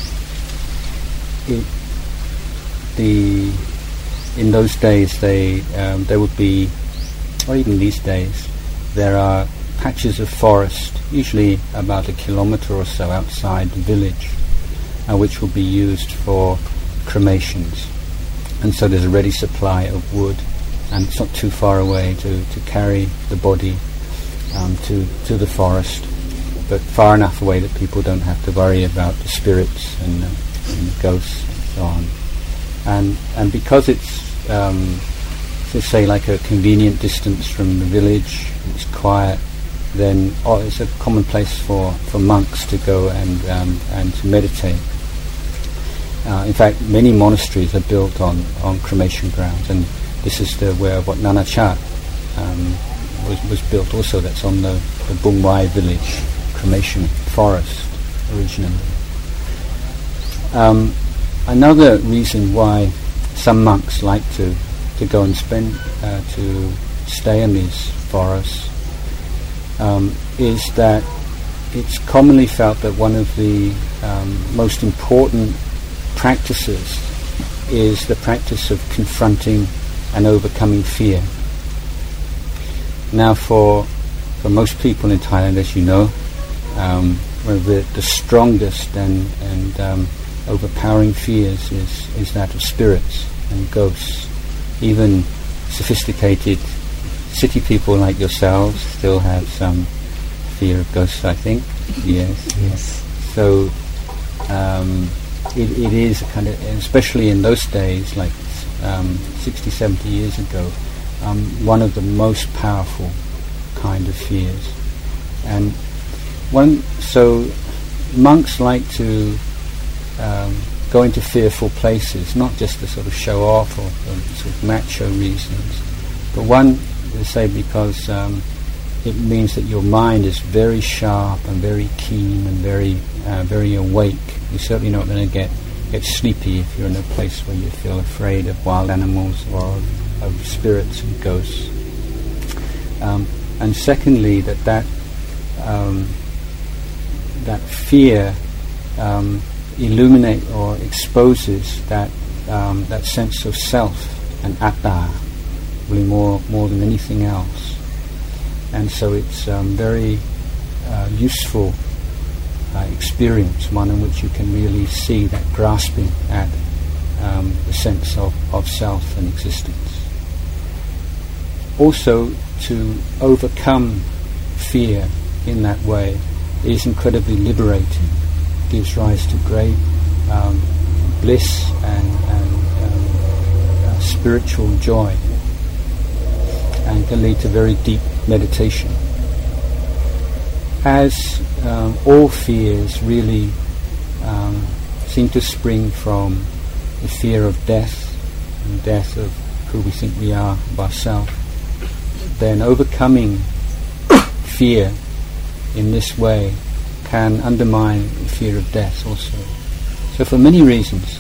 in those days there would be, or even these days, there are patches of forest, usually about 1 kilometre or so outside the village, which will be used for cremations. And so there's a ready supply of wood, and it's not too far away to carry the body to the forest, but far enough away that people don't have to worry about the spirits and the ghosts and so on. And because it's, let's say, like a convenient distance from the village, it's quiet, then it's a common place for monks to go and to meditate. In fact, many monasteries are built on cremation grounds, and this is where Wat Nanachat was built also. That's on the Bung Wai village cremation forest originally. Another reason why some monks like to go and to stay in these forests is that it's commonly felt that one of the most important practices is the practice of confronting and overcoming fear. Now, for most people in Thailand, as you know, one of the strongest and overpowering fears is that of spirits and ghosts. Even sophisticated city people like yourselves still have some fear of ghosts, I think. Yes. So it is a kind of, especially in those days, like 60, 70 years ago, one of the most powerful kind of fears. And so monks like to go into fearful places, not just to sort of show off or sort of macho reasons, but one, they say, because it means that your mind is very sharp and very keen and very awake. You're certainly not going to get sleepy if you're in a place where you feel afraid of wild animals or of spirits and ghosts. And secondly, that fear illuminate or exposes that sense of self and atta, really more than anything else. And so it's very useful experience, one in which you can really see that grasping at the sense of self and existence. Also, to overcome fear in that way is incredibly liberating. Gives rise to great bliss and spiritual joy, and can lead to very deep meditation. As all fears really seem to spring from the fear of death, and death of who we think we are of ourselves, then overcoming fear in this way can undermine the fear of death also. So for many reasons,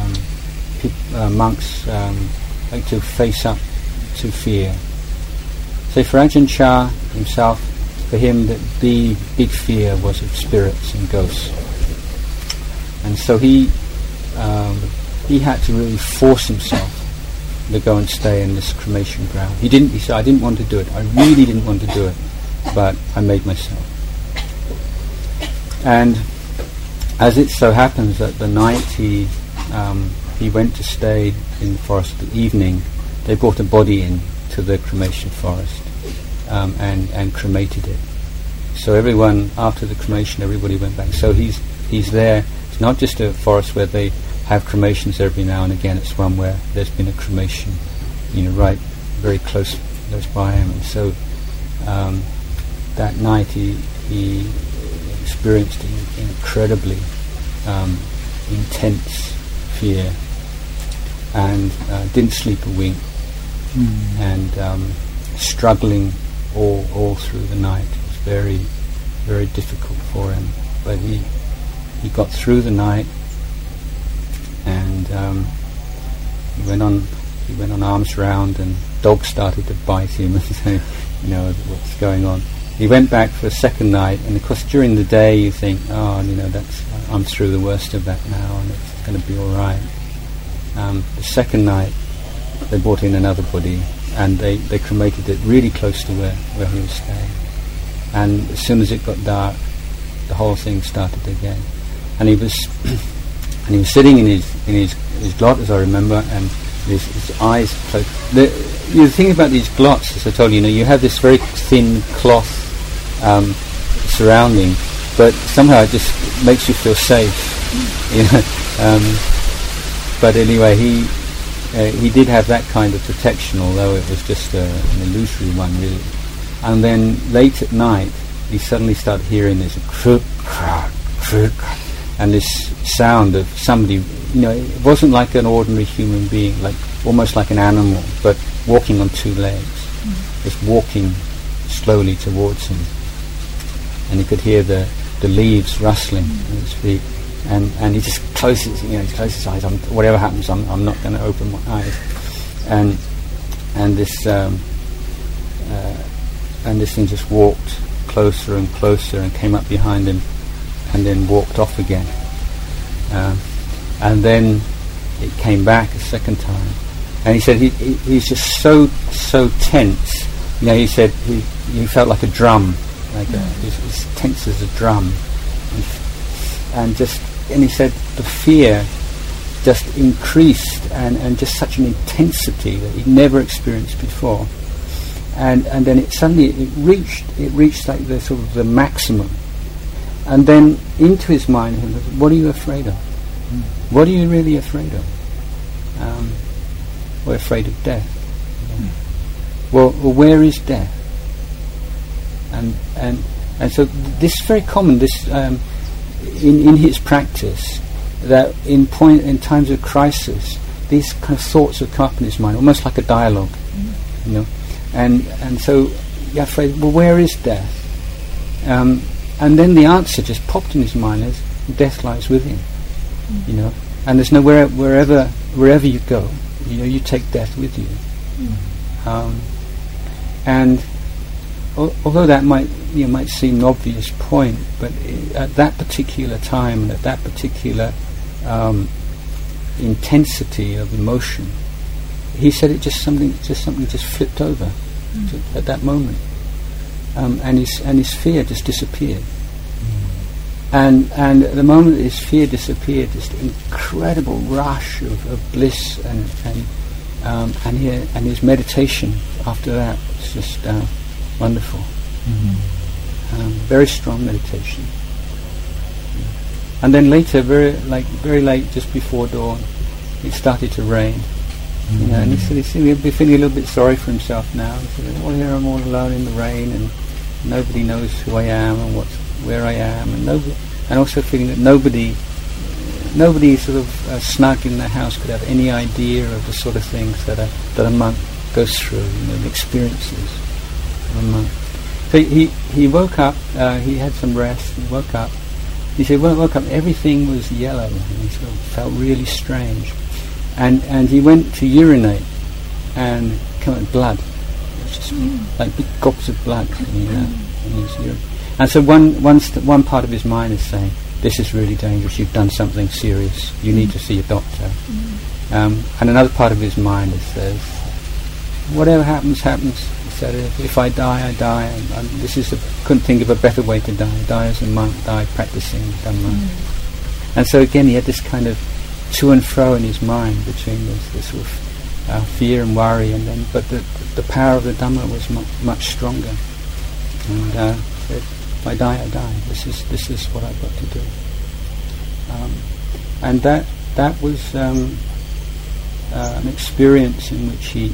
monks like to face up to fear. So for Ajahn Chah himself, for him the big fear was of spirits and ghosts. And so he had to really force himself to go and stay in this cremation ground. He said, I didn't want to do it. I really didn't want to do it, but I made myself. And as it so happens that the night he went to stay in the forest at the evening, they brought a body in to the cremation forest and cremated it. So everyone, after the cremation, everybody went back. So he's there. It's not just a forest where they have cremations every now and again. It's one where there's been a cremation, right very close by him. And so that night he experienced incredibly intense fear and didn't sleep a wink and struggling all through the night. It was very, very difficult for him, but he got through the night, and he went on arms round, and dogs started to bite him and say, what's going on. He went back for a second night, and of course during the day you think, I'm through the worst of that now, and it's going to be all right. The second night they brought in another body, and they cremated it really close to where he was staying. And as soon as it got dark, the whole thing started again. And he was sitting in his glot, as I remember, and his eyes closed. The thing about these glots, as I told you, you have this very thin cloth surrounding, but somehow it just makes you feel safe. But anyway, he did have that kind of protection, although it was just an illusory one, really. And then late at night, he suddenly started hearing this crook, and this sound of somebody. It wasn't like an ordinary human being, almost like an animal, but walking on two legs, just walking slowly towards him. And he could hear the leaves rustling at his feet. And he just closes his eyes. Whatever happens, I'm not going to open my eyes. And this thing just walked closer and closer and came up behind him, and then walked off again. And then it came back a second time. And he said he's just so tense. He said he felt like a drum, he's tense as a drum, and he said the fear just increased and just such an intensity that he'd never experienced before. And then it reached like the sort of the maximum. And then into his mind, he said, what are you afraid of? What are you really afraid of? We're afraid of death. Well, where is death? And so this is very common. This in his practice, that in times of crisis, these kind of thoughts would come up in his mind, almost like a dialogue, And so you're afraid. Well, where is death? And then the answer just popped in his mind: as death lies within. And there's nowhere wherever you go, you take death with you. And although that might seem an obvious point, but at that particular time and at that particular intensity of emotion, he said something just flipped over at that moment, and his fear just disappeared. And at the moment that his fear disappeared, this incredible rush of bliss and his meditation after that was just wonderful. Very strong meditation. And then later, very late, just before dawn, it started to rain. And he said he'd be feeling a little bit sorry for himself now. He said, "Well, here I'm all alone in the rain, and nobody knows who I am and where I am, and also feeling that nobody sort of snug in their house could have any idea of the sort of things that a monk goes through, the experiences of a monk." So he woke up. He had some rest. He woke up. He said, when I woke up, everything was yellow, and he sort of felt really strange. And he went to urinate, and came out blood. It was just like big gobs of blood coming out in his urine. And so one part of his mind is saying, this is really dangerous, you've done something serious, you need to see a doctor. And another part of his mind says, whatever happens, happens. He said, if I die, I die. And couldn't think of a better way to die. Die as a monk, die practicing Dhamma. And so again, he had this kind of to and fro in his mind between this sort of fear and worry, but the power of the Dhamma was much stronger. And said, if I die, I die. This is what I've got to do. And that was an experience in which he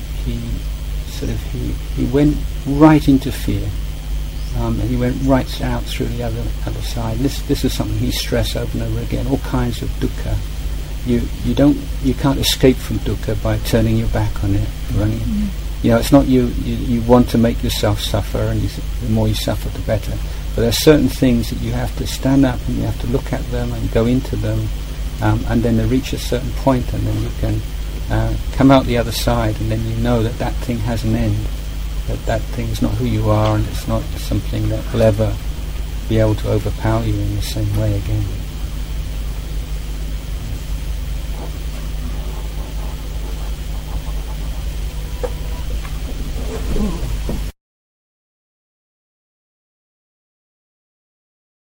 went right into fear, and he went right out through the other side. This is something he stressed over and over again. All kinds of dukkha. You can't escape from dukkha by turning your back on it, running. It's not you want to make yourself suffer, and the more you suffer, the better. But there are certain things that you have to stand up and you have to look at them and go into them, and then they reach a certain point, and then you can come out the other side, and then you know that thing has an end, that thing is not who you are, and it's not something that will ever be able to overpower you in the same way again.